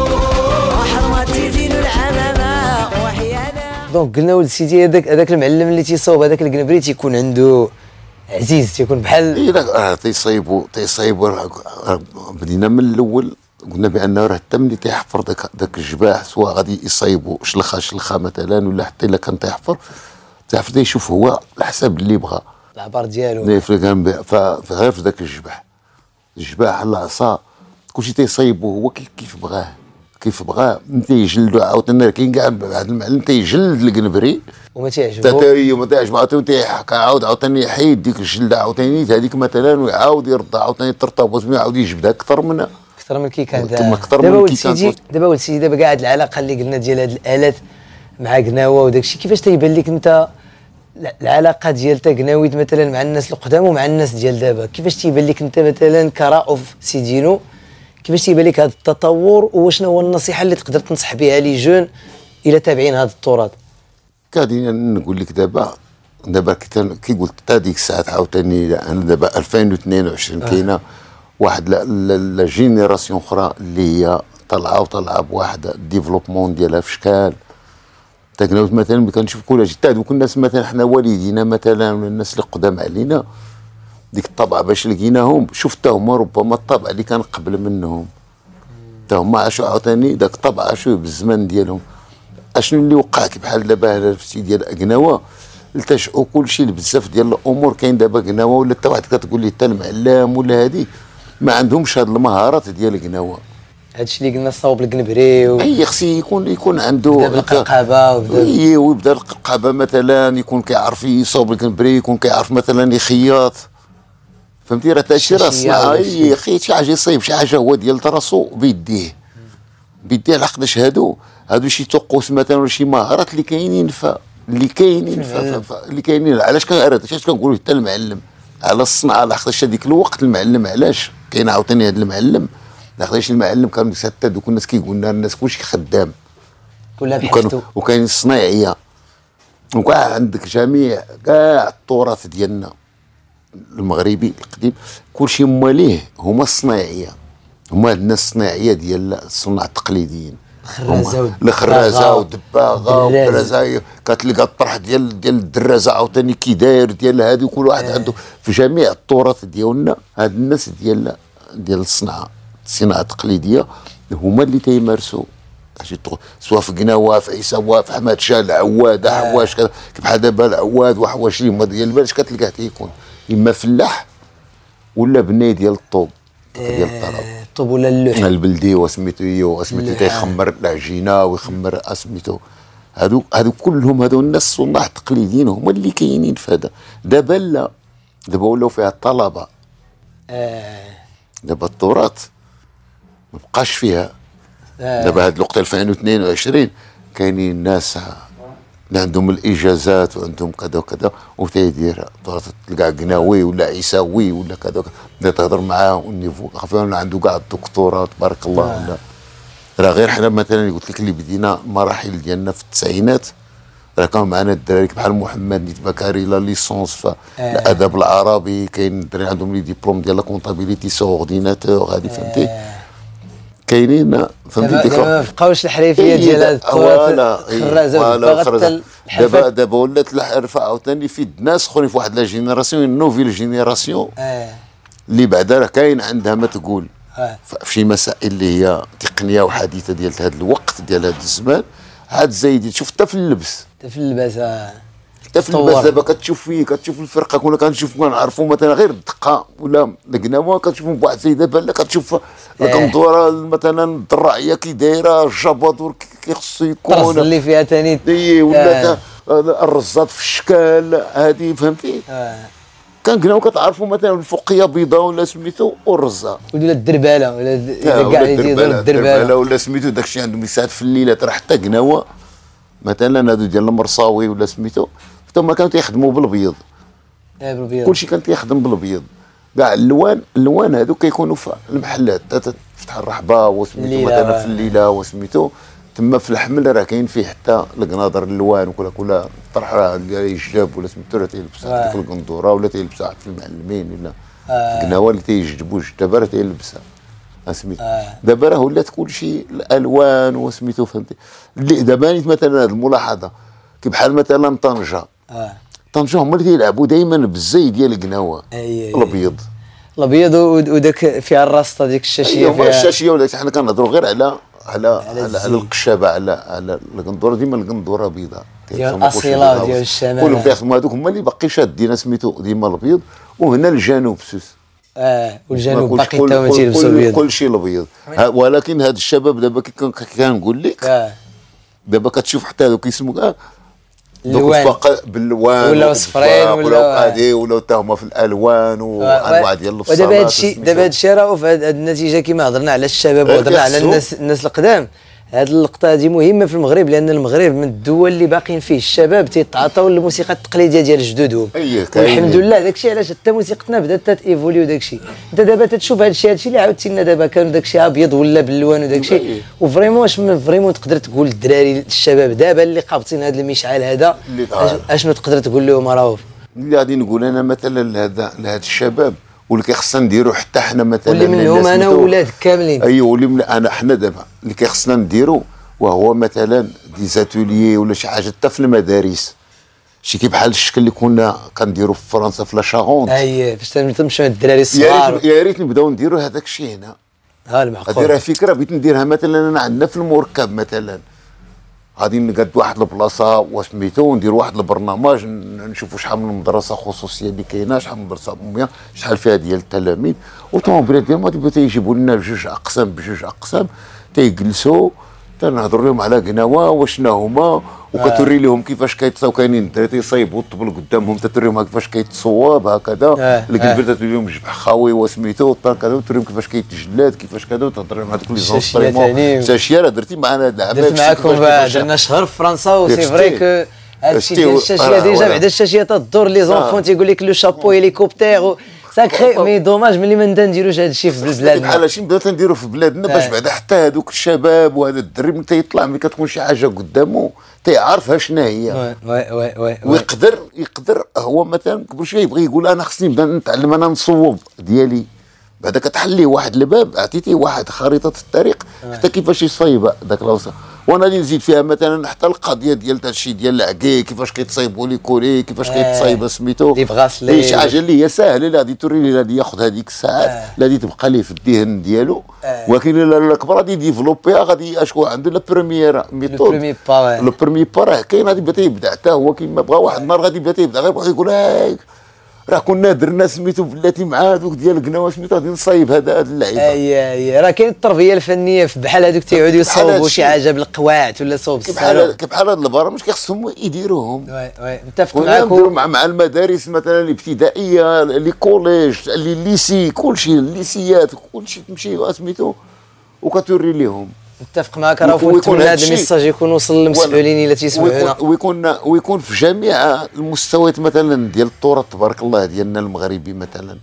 وحرمت زين العمامه وحيانا. دونك قلنا ولد سيدي هذاك هذاك المعلم اللي تيصاوب هذاك القنبري تيكون عنده عزيز تيكون بحال اي لا تيصايبوا تيصايبوا بدينا من الاول قلنا بانه راه حتى ملي تيحفر داك داك الجباح سواء غادي يصايبوا شلخه شلخه مثلا ولا حتى الا كان تيحفر تيحفر تيشوف هو على حساب اللي بغى العبار ديالو فغير في ذاك الجباح الجباح العصا كلشي تيصايبوه هو كيف بغاه كيف بغاه تيجلدو عاوتاني. كاين كاع واحد المعلم تيجلد القنبري وما تيعجبو حتى ما تيعجبو عاوتاني عاود عاوتاني يحيد ديك الجلده عاوتاني هذيك مثلا ويعاود يردها عاوتاني ترتبط ويعاود يجبدها اكثر منها اكثر من كي كان دابا ولد سيدي دابا ولد سيدي دابا كاع هاد العلاقه اللي قلنا ديال هاد الالات مع قناوه وداك الشيء كيفاش تيبان لك انت العلاقه ديال تا قناويت مثلا مع الناس القدام ومع الناس ديال دابا كيفاش تيبان لك انت مثلا كرؤوف سيدينو كيفاش تيبان لك هذا التطور وشنو هو النصيحه اللي تقدر تنصح بها لي جون الى تابعين هذا التراث؟ كادي نقول لك دابا دابا كي قلت حتى ديك الساعات عاوتاني انا دابا ألفين واثنين وعشرين آه. كاينه واحد لا جينيراسيون اخرى اللي هي طالعه وطالعه بواحد الديفلوبمون ديالها في شكال تقناوت مثلا كنشوف كل حتى دوك الناس مثلا حنا والدينا مثلا ولا الناس اللي قدام علينا ديك الطبعه باش لقيناهم شوف حتى هما ربما الطبع اللي كان قبل منهم حتى هما عاشوا عاوتاني داك الطبع عاشوه بالزمان ديالهم. اشنو اللي وقع كي بحال دابا هنا في ديال قناوه التجؤوا كلشي بزاف ديال الامور. كاين دابا قناوه ولا حتى واحد كتقول لي حتى المعلم ولا هذه ما عندهمش هاد المهارات ديال قناوه. هادشي اللي قلنا صاوب القنبري و... اي خصي يكون يكون عنده بدا بالقلقابه وبدا اي ويبدا القلقابه مثلا يكون كيعرف يصاوب القنبري يكون كيعرف مثلا يخيط فهمتي راه هادشي راه صناعه اي خيط شي حاجه يصايب شي حاجه هو ديال راسو بيديه بيديه لحقاش هادو هادو شي طقوس مثلا ولا شي مهارات اللي كاينين ف اللي كاينين اللي كاينين علاش كنعرض علاش كنقولوا حتى المعلم على الصنعه لحقاش هذيك الوقت المعلم علاش كاين عاوتاني هذا المعلم لحقاش المعلم كان حتى دوك الناس كيقول لنا الناس كلشي خدام كلها بحثتو وكاين الصنايعيه وكاع عندك جميع كاع التراث ديالنا المغربي القديم كلشي مواليه هما الصنايعيه هما الناس الصناعيه ديال الصناع التقليديين الخرازه الخرازه والدباغه والدرازه كتلقى الطرح ديال ديال الدرازه عاوتاني كي داير ديال هذه كل واحد آه. عنده في جميع التراث ديالنا هاد الناس ديال ديال الصناعه الصناعه التقليديه هما اللي تيمارسوا سواء في قناوه في عيساوه في حماد شاه العواد حواش كذا بحال دابا العواد وحواش اللي هما ديال البلاد كتلقاه تيكون اما فلاح ولا بناي ديال الطوب ديال الطرب الطوب ولا اللوح البلدي وسميتو وسميتو تيخمر العجينه ويخمر اسميتو هادو هادو كلهم هادو الناس الصناع التقليديين هما اللي كاينين في هذا. دابا لا، دابا ولاو فيها الطلبه. اه دابا التراث ما بقاش فيها. آه. دابا هاد الوقت ألفين واثنين وعشرين كاينين ناس اللي عندهم الاجازات وعندهم كذا وكذا وتيدير التراث، تلقى قناوي ولا عيساوي ولا كذا وكذا، تهضر معاه والنيفو خفيف عنده كاع الدكتوراه تبارك الله. آه. ولا راه غير حنا مثلا قلت لك اللي بدينا المراحل ديالنا في التسعينات، راه كانوا معنا الدراري بحال محمد نيت بكاري لا ليسونس في الادب العربي، كاين الدراري عندهم لي ديبلوم ديال لا كونطابيليتي سو اورديناتور هذه فهمتي. كاينين فهمتي ديك ما بقاوش الحريفيه ديال هذا التراث خرازه. دابا دابا ولات الحرفه عاوتاني في ناس اخرين في واحد لا جينيراسيون نوفيل جينيراسيون اللي بعدا راه كاين عندها ما تقول في شي مسائل اللي هي تقنيه وحديثه ديال هذا الوقت ديال هذا الزمان عاد زايدين. شوف حتى في اللبس، حتى في اللباس حتى في اللباس دابا كتشوف فيه كتشوف الفرقه كنا كنشوف كنعرفوا مثلا غير الدقه ولا القناوه كتشوفهم بواحد السيده بحال كتشوف القندوره مثلا الدراعيه كي دايره الجبادور كي خصو يكون اللي فيها ثاني اي ولا آه. الرزات في الشكال هذه فهمتي. آه. كان قناو كتعرفوا مثلا الفوقيه بيضاء ولا سميتو والرزه ولا الدرباله ولا كاع اللي تيديروا الدرباله ولا سميتو داكشي عندهم يساعد في الليلات. راه حتى قناوه مثلا هادو ديال المرصاوي ولا سميتو حتى هما كانوا تيخدموا بالابيض. اه بالابيض كلشي كان تيخدم بالابيض. كاع اللوان اللوان هادو كيكونوا في المحلات تفتح الرحبه وسميتو مثلا في الليله وسميتو تما في الحمل راه كاين فيه حتى القناضر اللوان وكل كل طرح راه يجلب ولا سميتو راه تيلبس ديك القندوره ولا تيلبسها في المعلمين ولا آه. القناوه اللي تيجذبوا دابا راه تيلبسها سميتو. آه. دابا راه ولات كلشي الالوان وسميتو فهمتي. اللي دابا مثلا هذه الملاحظه كي بحال مثلا طنجه. اه طنجه هما اللي تيلعبوا دائما بالزي ديال القناوه الابيض الابيض وداك فيها الراسطه ديك الشاشيه فيها الشاشيه ولا حنا كنهضروا غير على على على, على, على القشابه على على القندوره ديما القندوره بيضاء ديال الاصيله ديال الشمال كلهم كيخدموا هذوك هما اللي باقي شادين سميتو ديما الابيض. وهنا الجنوب سوس اه والجنوب باقي حتى هما تيلبسوا الابيض كلشي الابيض. ولكن هاد الشباب دابا كي كنقول لك آه. دابا كتشوف حتى هذوك كيسموا آه اللوان باللوان ولا صفرين ولا هادي ولا حتى هما في الالوان وانواع ديال الفصالات. ودابا هادشي دابا هادشي راه في هاد النتيجه كما هضرنا على الشباب وهضرنا على الناس الناس القدام. هاد اللقطه هذه مهمه في المغرب لان المغرب من الدول اللي باقيين فيه الشباب تيتعاطاو للموسيقى التقليديه ديال جدودهم. والحمد لله داكشي علاش حتى موسيقتنا بدات تيفوليو داكشي. انت دابا تتشوف هادشي هادشي اللي عاودتي لنا دابا كانوا داكشي ابيض ولا باللوان وداكشي وفريمون واش فريمون تقدر تقول للدراري الشباب دابا اللي قابطين هذا المشعل هذا اشنو تقدر تقول لهم؟ راه اللي غادي نقول انا مثلا لهذا لهذا الشباب واللي كيخصنا نديرو حتى حنا مثلا واللي منهم انا ولاد كاملين. ايوا واللي من انا حنا دابا اللي كيخصنا نديرو وهو مثلا دي زاتوليي ولا شي حاجه حتى في المدارس شي كي بحال الشكل اللي كنا كنديرو في فرنسا في لا شارونت. اييه فاش تمشيو الدراري الصغار يا ريت نبداو نديرو هذاك الشيء هنا. ها المعقول هذه راه فكره بغيت نديرها مثلا انا عندنا في المركب مثلا غادي نقاد واحد البلاصه وسميتو ندير واحد البرنامج نشوفوا شحال من مدرسه خصوصيه اللي كاينه شحال من مدرسه عموميه شحال فيها ديال التلاميذ والطوموبيلات ديالهم غادي تيجيبوا لنا بجوج اقسام بجوج اقسام تيجلسوا تنهضر لهم على قناوه وشنا هما وكتوري لهم كيفاش كيتصاو. كاينين الدراري تيصايبوا الطبل قدامهم تتوريهم كيفاش كيتصواب هكذا الكبير تتوري لهم جبح خاوي وسميتو كذا وتوريهم كيفاش كيتجلاد كيفاش كذا وتهضر لهم هذوك لي زونستريمون شاشيه راه درتي معنا درت معاكم درنا شهر في فرنسا وسي فري كو هادشي ديال الشاشيه ديجا بعدا الشاشيه تدور لي زونفون تيقول لك لو شابو هيليكوبتير ساكري مي دوماج ملي ما نديروش هذا الشيء في بلادنا بحال هادشي نبداو تنديرو في بلادنا باش بعدا حتى هذوك الشباب وهذا الدري ملي تيطلع ملي كتكون شي حاجه قدامه تيعرفها شنو هي وي وي وي ويقدر يقدر هو مثلا كل شويه يبغي يقول انا خصني نبدا نتعلم انا نصوب ديالي بعدا كتحليه واحد الباب عطيتيه واحد خريطه الطريق حتى كيفاش يصايب داك الوصف. وانا اللي نزيد فيها مثلا حتى القضيه ديال هادشي ديال العكي كيفاش كيتصايبوا لي كوري كيفاش كيتصايب سميتو لي بغاسلي شي حاجه اللي هي ساهله اللي غادي توري لي غادي ياخذ هذيك الساعات اللي غادي تبقى ليه في الذهن ديالو. ولكن الا الكبر غادي ديفلوبيها غادي اشكو عنده لا بروميير ميثود لو بروميي با راه كاين غادي يبدا يبدا حتى هو كيما بغا واحد النهار غادي يبدا يبدا غير يقول هاك راه كنا درنا سميتو بلاتي مع هذوك ديال قناوه سميتو غادي نصايب هذا هاد اللعيبه. اي اي راه كاين التربيه الفنيه في بحال هذوك تيعودوا يصوبوا شي حاجه بالقواعد ولا صوب السالو كيف بحال هاد البرامج كيخصهم يديروهم. وي وي متفق معاكم. مع مع المدارس مثلا الابتدائيه لي كوليج لي ليسي كلشي الليسيات كلشي تمشي سميتو وكتوري ليهم. متفق معك راه ونتمنى هذا الميساج يكون وصل للمسؤولين اللي تيسمعونا ويكون ويكون في جميع المستويات مثلا ديال التراث تبارك الله ديالنا المغربي مثلا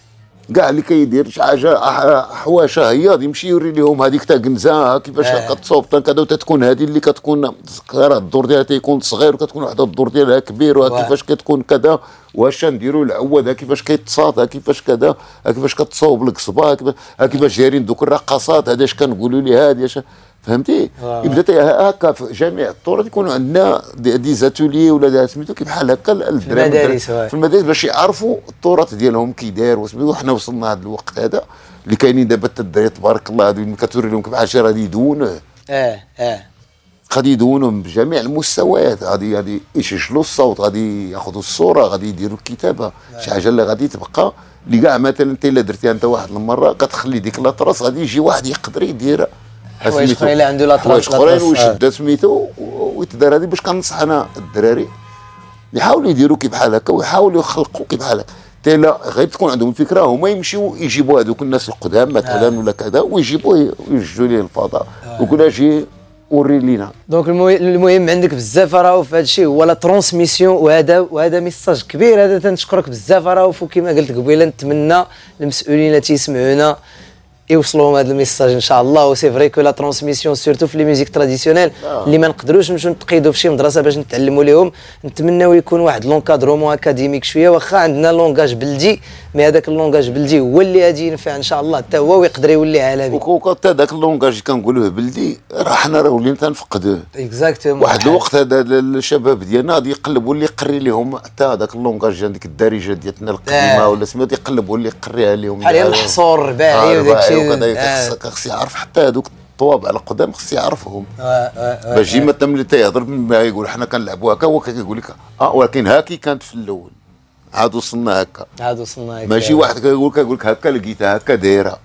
كاع اللي كيدير شي حاجه حواشه هي غادي يمشي يوري لهم هذيك تا كنزه كيفاش آه. كتصوب كذا وتتكون هذه اللي كتكون صغيره الدور ديالها تيكون صغير وكتكون وحده الدور ديالها كبير وكيفاش كتكون كذا واش نديروا العواد كيفاش كيتصاد كيفاش كذا كيفاش كتصوب القصبه كيفاش دايرين دوك الرقصات هذا اش كنقولوا لي هذه فهمتي آه. يبدا هكا في جميع الطرق يكونوا عندنا دي, دي زاتولي ولا سميتو كيف بحال هكا في المدارس في المدارس باش يعرفوا التراث ديالهم كي داير وسميتو. حنا وصلنا هذا الوقت هذا اللي كاينين دابا الدراري تبارك الله هذو اللي كتوري لهم كيف حاجه غادي يدونوه اه اه غادي يدونوهم بجميع المستويات غادي غادي يسجلوا الصوت غادي ياخذوا الصوره غادي يديروا الكتابه آه. شي حاجه اللي غادي تبقى اللي كاع مثلا انت الا درتيها انت واحد المره كتخلي ديك لاطراس غادي يجي واحد يقدر يديرها حوايج اخرين اللي عنده لاطراس حوايج اخرين ويشد سميتو ويتدار هذه باش كنصح انا الدراري يحاولوا يديروا كي بحال هكا ويحاولوا يخلقوا كي بحال هكا حتى لا غير تكون عندهم فكره هما يمشيو يجيبوا هذوك الناس القدام مثلا آه. ولا كذا ويجيبوه ويوجدوا ليه الفضاء آه. ويقول اجي وري لينا. دونك المهم عندك بزاف راهو في هذا الشيء هو لا ترانسميسيون وهذا وهذا ميساج كبير هذا تنشكرك بزاف راهو كما قلت قبيله نتمنى المسؤولين اللي تيسمعونا يوصلوا هذا الميساج ان شاء الله. وسي فري كو لا ترانسميسيون سورتو في لي ميوزيك تراديسيونيل آه. اللي ما نقدروش نمشيو نتقيدوا في شي مدرسه باش نتعلموا لهم نتمناو يكون واحد لونكادرومون اكاديميك شويه واخا عندنا لونغاج بلدي مي هذاك اللونغاج بلدي هو اللي غادي ينفع ان شاء الله حتى هو ويقدر يولي عالمي. وكا هذاك اللونغاج كنقولوه بلدي راه حنا راه ولينا تنفقدوه اكزاكتومون. واحد الوقت هذا الشباب ديالنا غادي يقلبوا اللي يقري لهم حتى هذاك اللونغاج هذيك الدارجه ديالنا القديمه آه. ولا سميتو يقلبوا اللي يقريها لهم بحال الحصور الرباعي وداك الشيء خص يعرف حتى هذوك الطوابع القدام خص يعرفهم آه آه باش يجي مثلا ملي تيهضر ما يقول حنا كنلعبوا هكا هو كيقول لك اه ولكن هاكي كانت في الاول عاد وصلنا هكا عاد وصلنا هكا ماشي واحد كيقول لك يقول لك هكا لقيتها هكا دايره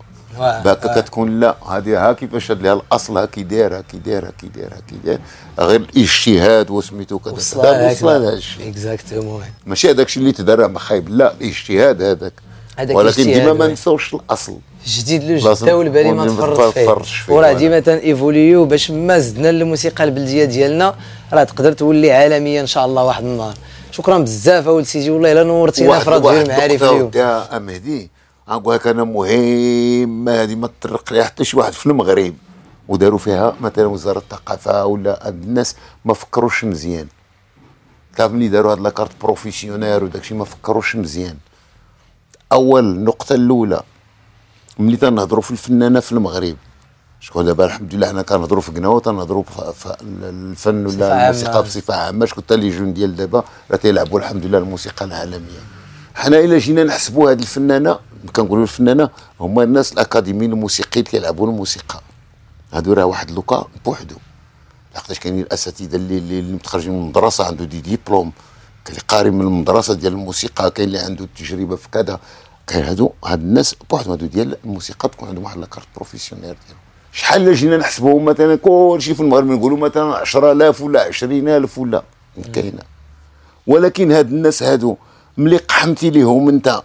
هكا كتكون لا هذه ها كيفاش هاد لها الاصل ها كي دايره كي دايره كي دايره كي دايره غير الاجتهاد وسميتو كذا وصل لهذا الشيء اكزاكتومون ماشي هذاك الشيء اللي تدرى ما خايب لا الاجتهاد هذاك ولكن ديما ما نساوش الاصل جديد لو جدا والبالي ما تفرطش فيه وراه ديما تنيفوليو باش ما زدنا الموسيقى البلديه ديالنا راه تقدر تولي عالميه ان شاء الله واحد النهار. شكرا بزاف اول سيدي والله الا نورتينا في راديو المعارف اليوم يا مهدي. نقول لك انا مهم هذه ما تطرق لها حتى شي واحد في المغرب وداروا فيها مثلا وزاره الثقافه ولا الناس ما فكروش مزيان. تعرف ملي داروا هاد لاكارت بروفيسيونير وداك الشيء ما فكروش مزيان. اول النقطه الاولى ملي تنهضروا في الفنانه في المغرب شكون دابا الحمد لله حنا كنهضروا في قناوه تنهضروا في الفن ولا الموسيقى بصفه عامه شكون حتى لي جون ديال دابا راه تيلعبوا الحمد لله الموسيقى العالميه. حنا الا جينا نحسبوا هذه الفنانه كنقولوا الفنانه هما الناس الاكاديميين الموسيقيين اللي كيلعبوا الموسيقى هادو راه واحد لوكا بوحدو لحقاش كاينين الاساتذه اللي اللي متخرجين من المدرسه عنده دي ديبلوم كاين اللي قاري من المدرسه ديال الموسيقى كاين اللي عنده تجربه في كذا كاين هادو هاد الناس بوحدهم هادو ديال الموسيقى تكون عندهم واحد لاكارت بروفيسيونير ديالهم. شحال الا جينا نحسبوهم مثلا كلشي في المغرب نقولوا مثلا عشرة آلاف ولا عشرين ألف ولا كاينه ولكن هاد الناس هادو ملي قحمتي ليهم انت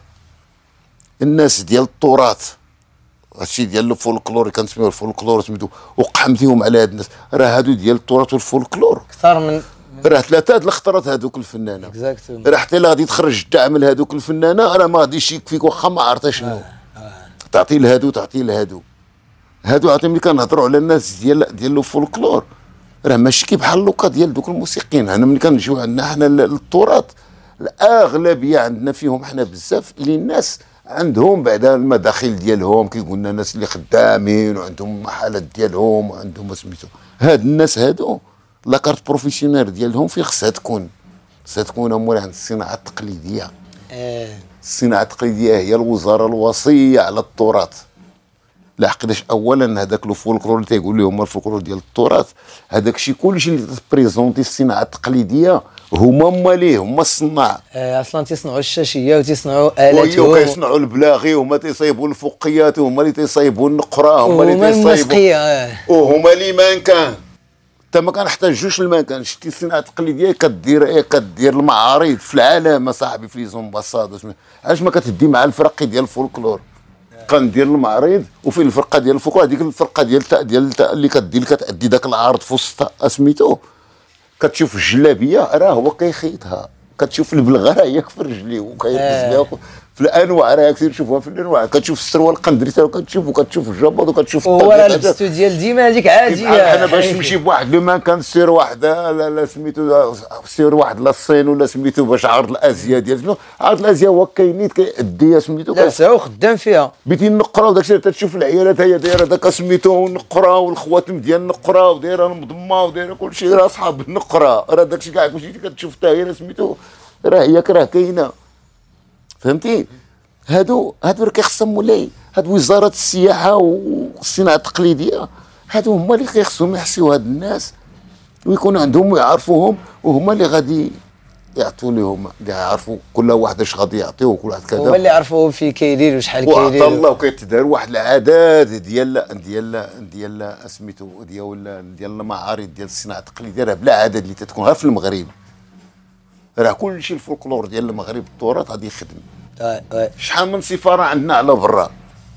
الناس ديال التراث هادشي ديال الفولكلور كنسميوه الفولكلور سميتو وقحمتيهم على هاد الناس راه هادو ديال التراث والفولكلور اكثر من راه ثلاثه د الخطرات هادوك الفنانه راه حتى الا غادي تخرج الدعم لهادوك الفنانه راه ما غاديش يكفيك واخا ما عرفتها شنو آه. آه. تعطي لهادو تعطي لهادو هادو عرفتي ملي كنهضروا على الناس ديال ديال الفولكلور راه ماشي كي بحال لوكا ديال دوك الموسيقيين. انا ملي كنجيو عندنا حنا التراث الاغلبيه عندنا فيهم حنا بزاف اللي الناس عندهم بعد المداخل ديالهم كيقول لنا الناس اللي خدامين وعندهم محلات ديالهم وعندهم سميتو هاد الناس هادو لاكارت بروفيسيونير ديالهم فين خصها تكون خصها تكون امور عند الصناعه التقليديه. اه الصناعه التقليديه هي الوزاره الوصيه على التراث لحقاش اولا هذاك لو فولكلور اللي تيقول لهم الفولكلور ديال التراث، هذاك الشيء كلشي اللي تبريزونتي الصناعه التقليديه هما ماليه هما الصناع. آه اصلا تيصنعوا الشاشيه وتيصنعوا الات وكيصنعوا البلاغي وهما تيصايبوا الفقيات وهما اللي تيصايبوا النقره هما اللي تيصايبوا آه. وهما اللي ما كان حتى ما كنحتاجوش المكان. شتي الصناعه التقليديه كدير ايه كدير المعارض في العالم اصاحبي في لي زومباساد. علاش ما كتدي مع الفرق ديال الفولكلور؟ كندير المعرض وفي الفرقه ديال الفولكلور هذيك الفرقه ديال التاء ديال التاء اللي كدير اللي كتادي داك العرض في وسط سميتو، كتشوف الجلابيه راه هو كيخيطها، كتشوف البلغه راه هي في رجليه وكيلبس بها في الانواع راه كثير تشوفوها في الانواع. كتشوف السروال القندري حتى كتشوف وكتشوف الجبط وكتشوف هو راه لبستو ديال ديما هذيك عاديه. انا باش تمشي بواحد لو مان كان سير واحد لا لا سميتو سير واحد لا الصين ولا سميتو باش عرض الازياء ديال شنو عرض الازياء هو كاينيت كيأديها سميتو لا هو خدام فيها بيتي النقره وداك الشيء تشوف العيالات هي دايره داك سميتو النقره والخواتم ديال النقره ودايره المضمه ودايره كل شيء راه اصحاب النقره راه داك الشيء كاع كلشي كتشوف حتى هي سميتو راه هي راه كاينه فهمتي. هادو هادو راه كيخصهم مولاي هادو وزاره السياحه والصناعه التقليديه هادو هما اللي كيخصهم يحسيو هاد الناس ويكون عندهم ويعرفوهم وهما اللي غادي يعطوا لهم اللي يعرفوا كل واحد اش غادي يعطيو وكل واحد كذا هما اللي يعرفوا فين كيدير وشحال كيدير وعطا الله وكيتدار واحد العادات ديال ديال ديال سميتو ديال ديال المعارض ديال الصناعه التقليديه راه بلا عدد اللي تتكون غير في المغرب. راه كلشي الفولكلور ديال المغرب التراث غادي يخدم. شحال من سفاره عندنا على برا.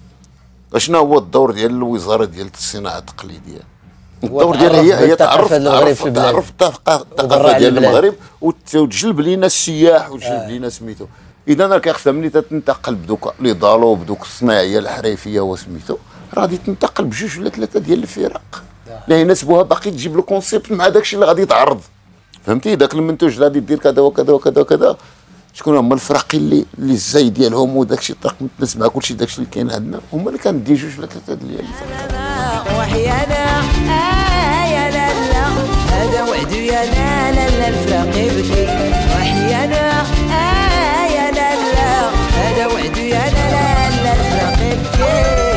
شنو هو الدور ديال الوزاره ديال الصناعه التقليديه؟ الدور ديالها هي هي تعرف تعرف تعرف الثقافه ديال المغرب وتجلب لينا السياح وتجلب لينا سميتو. اذا راه كيخصها ملي تنتقل بدوك لي دالو بدوك الصناعيه الحرفيه وسميتو راه غادي تنتقل بجوج ولا ثلاثه ديال الفرق اللي يناسبوها باقي تجيب له كونسيبت مع داك الشيء اللي غادي يتعرض فهمتي. داك المنتوج اللي غادي دير كذا وكذا وكذا وكذا شكون هما الفرق اللي اللي الزاي ديالهم وداك الشيء الطرق متناسب مع كلشي داك الشيء اللي كاين عندنا هما اللي كندي جوج ولا ثلاثه ديال الفرق. وحيانا آه يا لالا هذا وعد يا لالا الفراق يبكي وحيانا آه يا لالا هذا وعد يا لالا الفراق يبكي.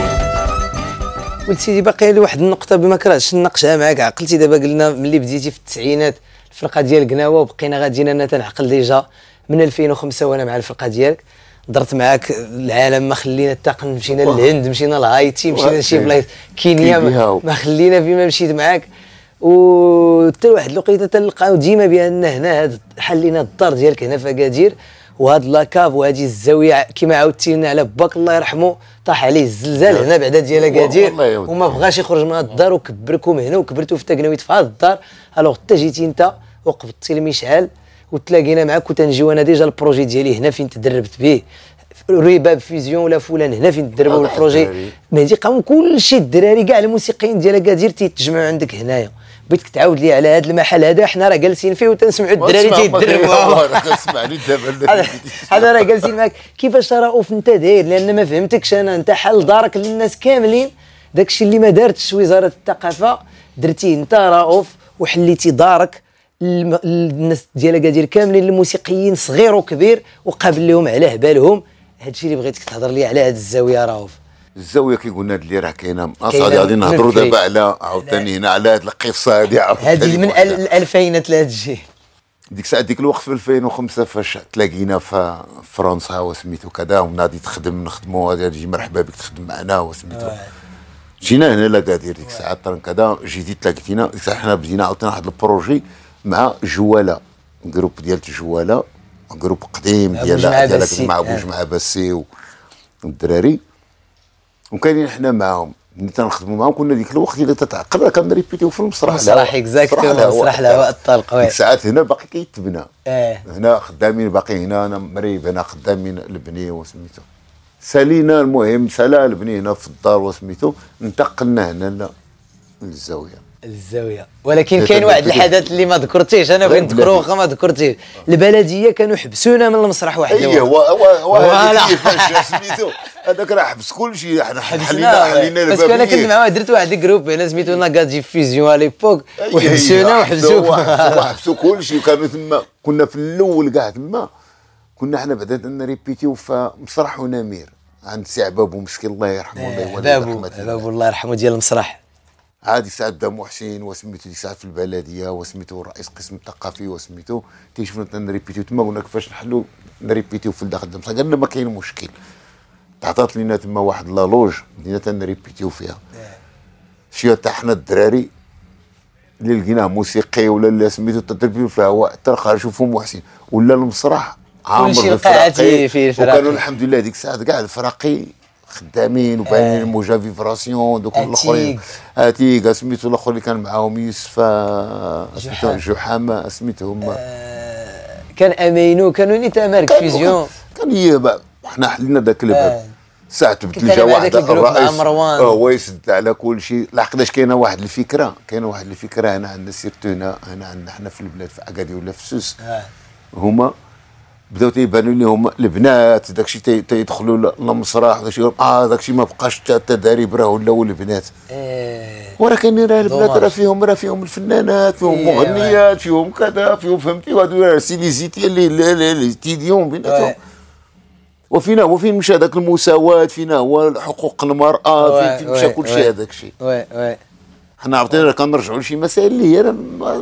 ولد سيدي باقي لي واحد النقطه بما كرهتش نناقشها معاك. عقلتي دابا قلنا ملي بديتي في التسعينات الفرقه ديال قناوه وبقينا غاديين انا تنعقل ديجا من ألفين وخمسة وانا مع الفرقه ديالك درت معاك العالم ما خلينا حتى مشينا للهند مشينا لهايتي مشينا لشي بلايص كينيا ما خلينا فيما مشيت معاك وحتى واحد الوقيته تلقاو ديما بان هنا هاد حلينا الدار ديالك هنا في اكادير وهاد لاكاف وهذه الزاويه كما عاودتي لنا على باك الله يرحمه طاح عليه الزلزال هنا بعدا ديال اكادير وما بغاش يخرج من هاد الدار وكبركم هنا وكبرتوا في تقنويت في هاد الدار. الوغ حتى جيتي انت وقبضتي المشعل وتلاقينا معاك وتنجيو انا ديجا البروجي ديالي هنا فين تدربت به ريباب فيزيون ولا فلان هنا فين تدربوا البروجي مهدي قام كلشي الدراري كاع الموسيقيين ديال اكادير تيتجمعوا عندك هنايا. بغيتك تعاود لي على هذا المحل هذا حنا راه جالسين فيه وتنسمعوا الدراري تيدربوا تسمعني دابا هذا راه جالسين معاك كيفاش رؤوف انت داير لان ما فهمتكش انا انت حل دارك للناس كاملين داكشي اللي ما دارتش وزاره الثقافه درتيه انت رؤوف وحليتي دارك الناس ديال اكادير كاملين الموسيقيين صغير وكبير وقابل لهم على بالهم. هادشي اللي بغيتك تهضر لي على هاد الزاويه رؤوف. الزاويه كي قلنا اللي راه كاينه اصاحبي غادي نهضروا دابا على عاوتاني هنا على هاد القصه هادي هادي من الألفينات لهادشي ديك الساعه ديك الوقت في ألفين وخمسة فاش تلاقينا في فرنسا وسميتو كذا ونادي تخدم نخدموا غادي مرحبا بك تخدم معنا وسميتو جينا هنا لاكادير ديك الساعه كذا جيتي تلاقيتينا ديك الساعه حنا بدينا عاوتاني واحد البروجي مع جواله جروب ديال جواله جروب قديم ديال ديالك مع بوج مع باسي والدراري وكاينين حنا معاهم ملي تنخدموا معاهم كنا ديك الوقت اللي تتعقل راه كنريبيتيو في المسرح المسرح اكزاكتلي المسرح الهواء الطلق ديك الساعات هنا باقي كيتبنى اه هنا خدامين باقي هنا انا مريب هنا خدامين البنيه وسميتو سالينا المهم سالا البني هنا في الدار وسميتو انتقلنا هنا للزاويه الزاويه ولكن كاين واحد الحدث اللي ما ذكرتيش انا بغيت نذكرو واخا ما ذكرتيش البلديه كانوا حبسونا من المسرح واحد اييه هو هو هذاك كيفاش سميتو هذاك راه حبس كلشي حنا حلينا حلينا بس انا كنت معاه درت واحد الجروب هنا سميتو ناكادي فيزيون على ليبوك وحبسونا وحبسوك وحبسوا كلشي وكانوا تما كنا في الاول كاع تما كنا حنا بعدا نريبيتيو في مسرح ونمير عند سي عبابو مسكين الله يرحمه الله يولي عبابو عبابو الله يرحمه ديال المسرح. عادي سعد دام حسين وسميتو ديك الساعه في البلديه وسميتو رئيس قسم الثقافي وسميتو تيشوفنا تنريبيتيو تما قلنا كيفاش نحلو نريبيتيو في الداخل بصح قالنا ما كاين مشكل. تعطات لينا تما واحد لالوج بدينا تنريبيتيو فيها. شي حتى حنا الدراري اللي لقيناه موسيقي ولا اللي سميتو تنريبيتيو فيها هو حتى خرجوا فيهم محسن ولا المسرح عامر الفراقي فيه الفراقي وكانوا الحمد لله ديك الساعه كاع الفراقي خدامين وباينين الموجه فيبراسيون دوك الاخرين اتيك سميتو الاخر اللي كان معاهم يوسف سميتو جحامه سميتهم آه كان امينو كانوا نيت مارك فيزيون كان هي حنا حلينا ذاك الباب ساعه تبدل جا واحد الرئيس هو يسد على كل شيء لحقاش كاينه واحد الفكره كاينه واحد الفكره هنا عندنا سيرتو هنا هنا عندنا حنا في البلاد في اكادير ولا في سوس هما بداو تيبانوا لي هما البنات داكشي تيدخلوا للمسرح داكشي اه داكشي ما بقاش التداريب راه ولاو البنات ايه ولكن راه البنات راه فيهم راه فيهم الفنانات فيهم إيه مغنيات فيهم كذا فيهم فهمتي وهادو راه سيليزيتي اللي اللي تيديون بيناتهم وفينا وفين مشى داك المساواه فينا هو حقوق المراه فين مشى كل شيء هذاك الشيء وي وي حنا عرفتي كنرجعوا لشي مسائل اللي هي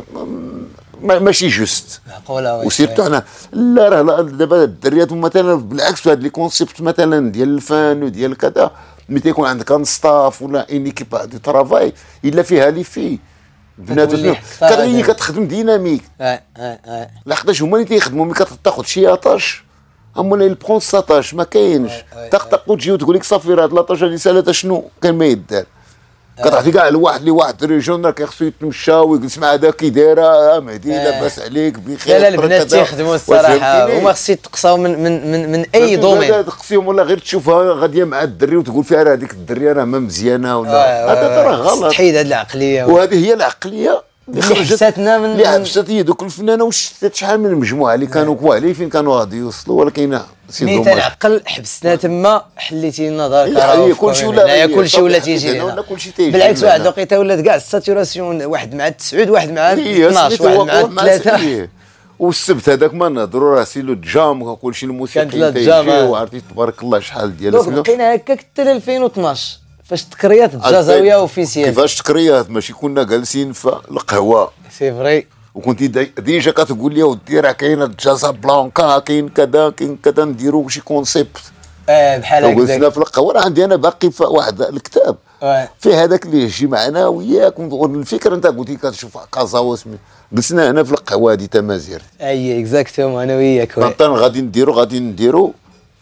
ماشي جوست معقوله وسيرتو حنا لا راه دابا الدريات مثلا بالعكس هاد لي كونسيبت مثلا ديال الفن وديال كذا ملي تيكون عندك ان ستاف ولا ان ايكيب دو ترافاي الا فيها لي في بنات كتغني كتخدم ديناميك اه اه اه لحقاش هما اللي تيخدموا ملي كتاخذ شي لاطاش هما اللي البرون ساطاش ما كاينش طق وتجي وتقول لك صافي راه هاد لاطاش هادي سالات شنو كان ما يدار كتعطي كاع لواحد اللي واحد ريجون راه كيخصو يتمشى ويجلس مع هذا كي دايره مهدي لاباس عليك بخير. لا لا البنات تيخدموا الصراحه هما خص يتقصاو من من من, من اي دومين تقصيهم ولا غير تشوفها غاديه مع الدري وتقول فيها راه هذيك الدريه راه ما مزيانه ولا هذا راه غلط. تحيد هذه العقليه وهذه هي العقليه اللي حبستنا من اللي حبست هي دوك الفنانه وشتات شحال من المجموعه اللي كانوا كواعلين فين كانوا غادي يوصلوا ولكن ملي تنعقل حبسنا تما حليتي لنا دار كراهه كلشي ولا كلشي ولا تيجي لنا بالعكس واحد الوقيته ولات كاع الساتوراسيون واحد مع تسعود واحد مع اثناش واحد مع ثلاثة والسبت هذاك ما نهضروا راه سي لو جام وكلشي الموسيقى تيجيو وعرفتي تبارك الله شحال ديال دونك بقينا هكاك حتى ألفين واثناش فاش تكريات الجزاويه اوفيسيال كيفاش تكريات ماشي كنا جالسين في القهوه سي فري وكنتي ديجا كتقول لي ودي راه كاينه الجازا بلانكا كاين كذا كاين كذا نديروا شي كونسيبت اه بحال هكا جلسنا في القهوه راه عندي انا باقي في واحد الكتاب اه فيه هذاك اللي يجي معنا وياك الفكره انت قلتي كتشوف كازا واسمي جلسنا هنا في القهوه هذه تمازير اي اكزاكتومون انا وياك مثلا غادي نديروا غادي نديروا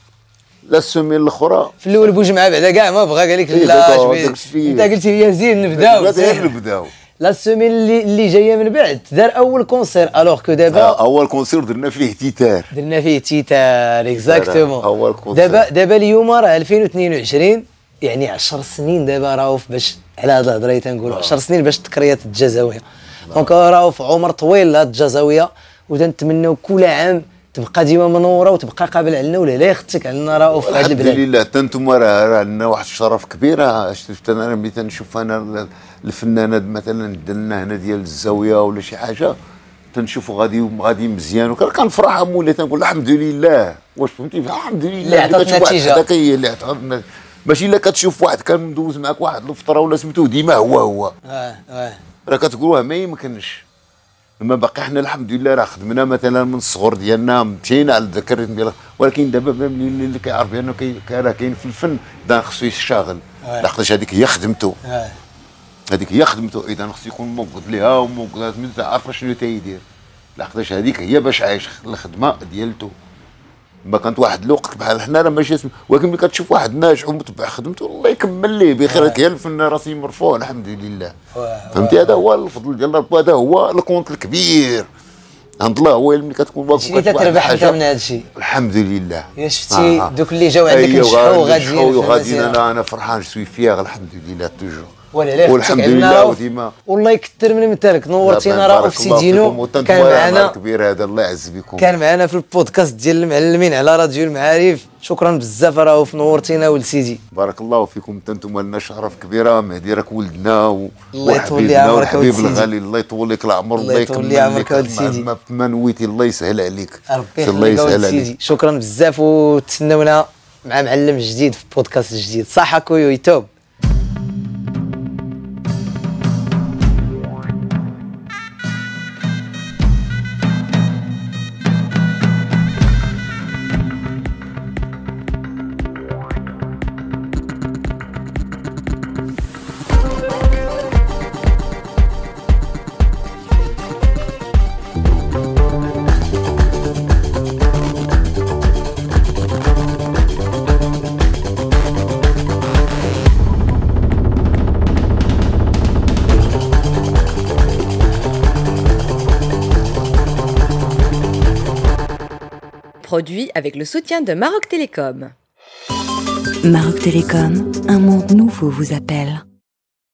لا السومين الاخرى في الاول بوجمعه بعدا كاع ما بغى قال لك لا انت قلتي لي زين نبداو نبداو لا السومين اللي اللي جايه من بعد دار اول كونسير الوغ كو دابا اول كونسير درنا فيه تيتار درنا فيه تيتار اكزاكتومون اول كونسير دابا دابا اليوم راه ألفين واثنين وعشرين يعني عشر سنين دابا راهو باش على هاد الهضره تنقولوا عشر سنين باش تكريات الجزاويه دونك راهو في عمر طويل هاد الجزاويه وتنتمناو كل عام تبقى ديما منوره وتبقى قابل علينا ولا لا يختك علينا راه في هذا البلاد. الحمد لله حتى انتم راه عندنا واحد الشرف كبير شفت انا ملي تنشوف انا الفنانات مثلا دلنا هنا ديال الزاويه ولا شي حاجه تنشوفوا غادي غادي مزيان وكنفرح مولي تنقول الحمد لله واش فهمتي الحمد لله اللي عطات نتيجه هذاك هي اللي عطات ماشي الا كتشوف واحد كان مدوز معاك واحد الفطره ولا سميتو ديما هو هو اه اه راه كتقولوها ما يمكنش لما باقي حنا الحمد لله راه خدمنا مثلا من الصغر ديالنا مشينا على الذكر ديال ولكن دابا اللي, اللي كيعرف بانه راه كاين في الفن دا خصو يشتغل لحقاش هذيك هي خدمته هذيك هي خدمته اذا خصو يكون موجود ليها وموجود عارفه شنو تيدير لحقاش هذيك هي باش عايش الخدمه ديالته ما كانت واحد الوقت بحال حنا راه ماشي ولكن ملي كتشوف واحد ناجح ومتبع خدمته الله يكمل ليه بخير هي الفن راسي مرفوع الحمد لله فهمتي هذا هو الفضل ديال ربي هذا هو الكونت الكبير عند الله هو ملي كتكون واقف شنو تتربح انت من هذا الشيء الحمد لله يا شفتي آه. دوك اللي جاو عندك نجحوا وغاديين وغاديين انا انا فرحان سوي فيها الحمد لله توجور ولا لا والحمد لله وديما والله يكثر من مثالك نورتينا راه في سيدينو كان معنا كبير هذا الله يعز بكم كان معنا في البودكاست ديال المعلمين على راديو المعارف شكرا بزاف راه نورتينا ولسيدي بارك الله فيكم حتى انتم لنا شرف كبيره مهدي راك ولدنا و... الله يطول لي عمرك حبيب الغالي الله يطول لك العمر الله يكمل لي عمرك ولسيدي ما نويتي الله يسهل عليك الله يسهل عليك شكرا بزاف وتسناونا مع معلم جديد في بودكاست جديد. صح اكويو يتوب. Produit avec le soutien de Maroc Télécom. Maroc Télécom, un monde nouveau vous appelle.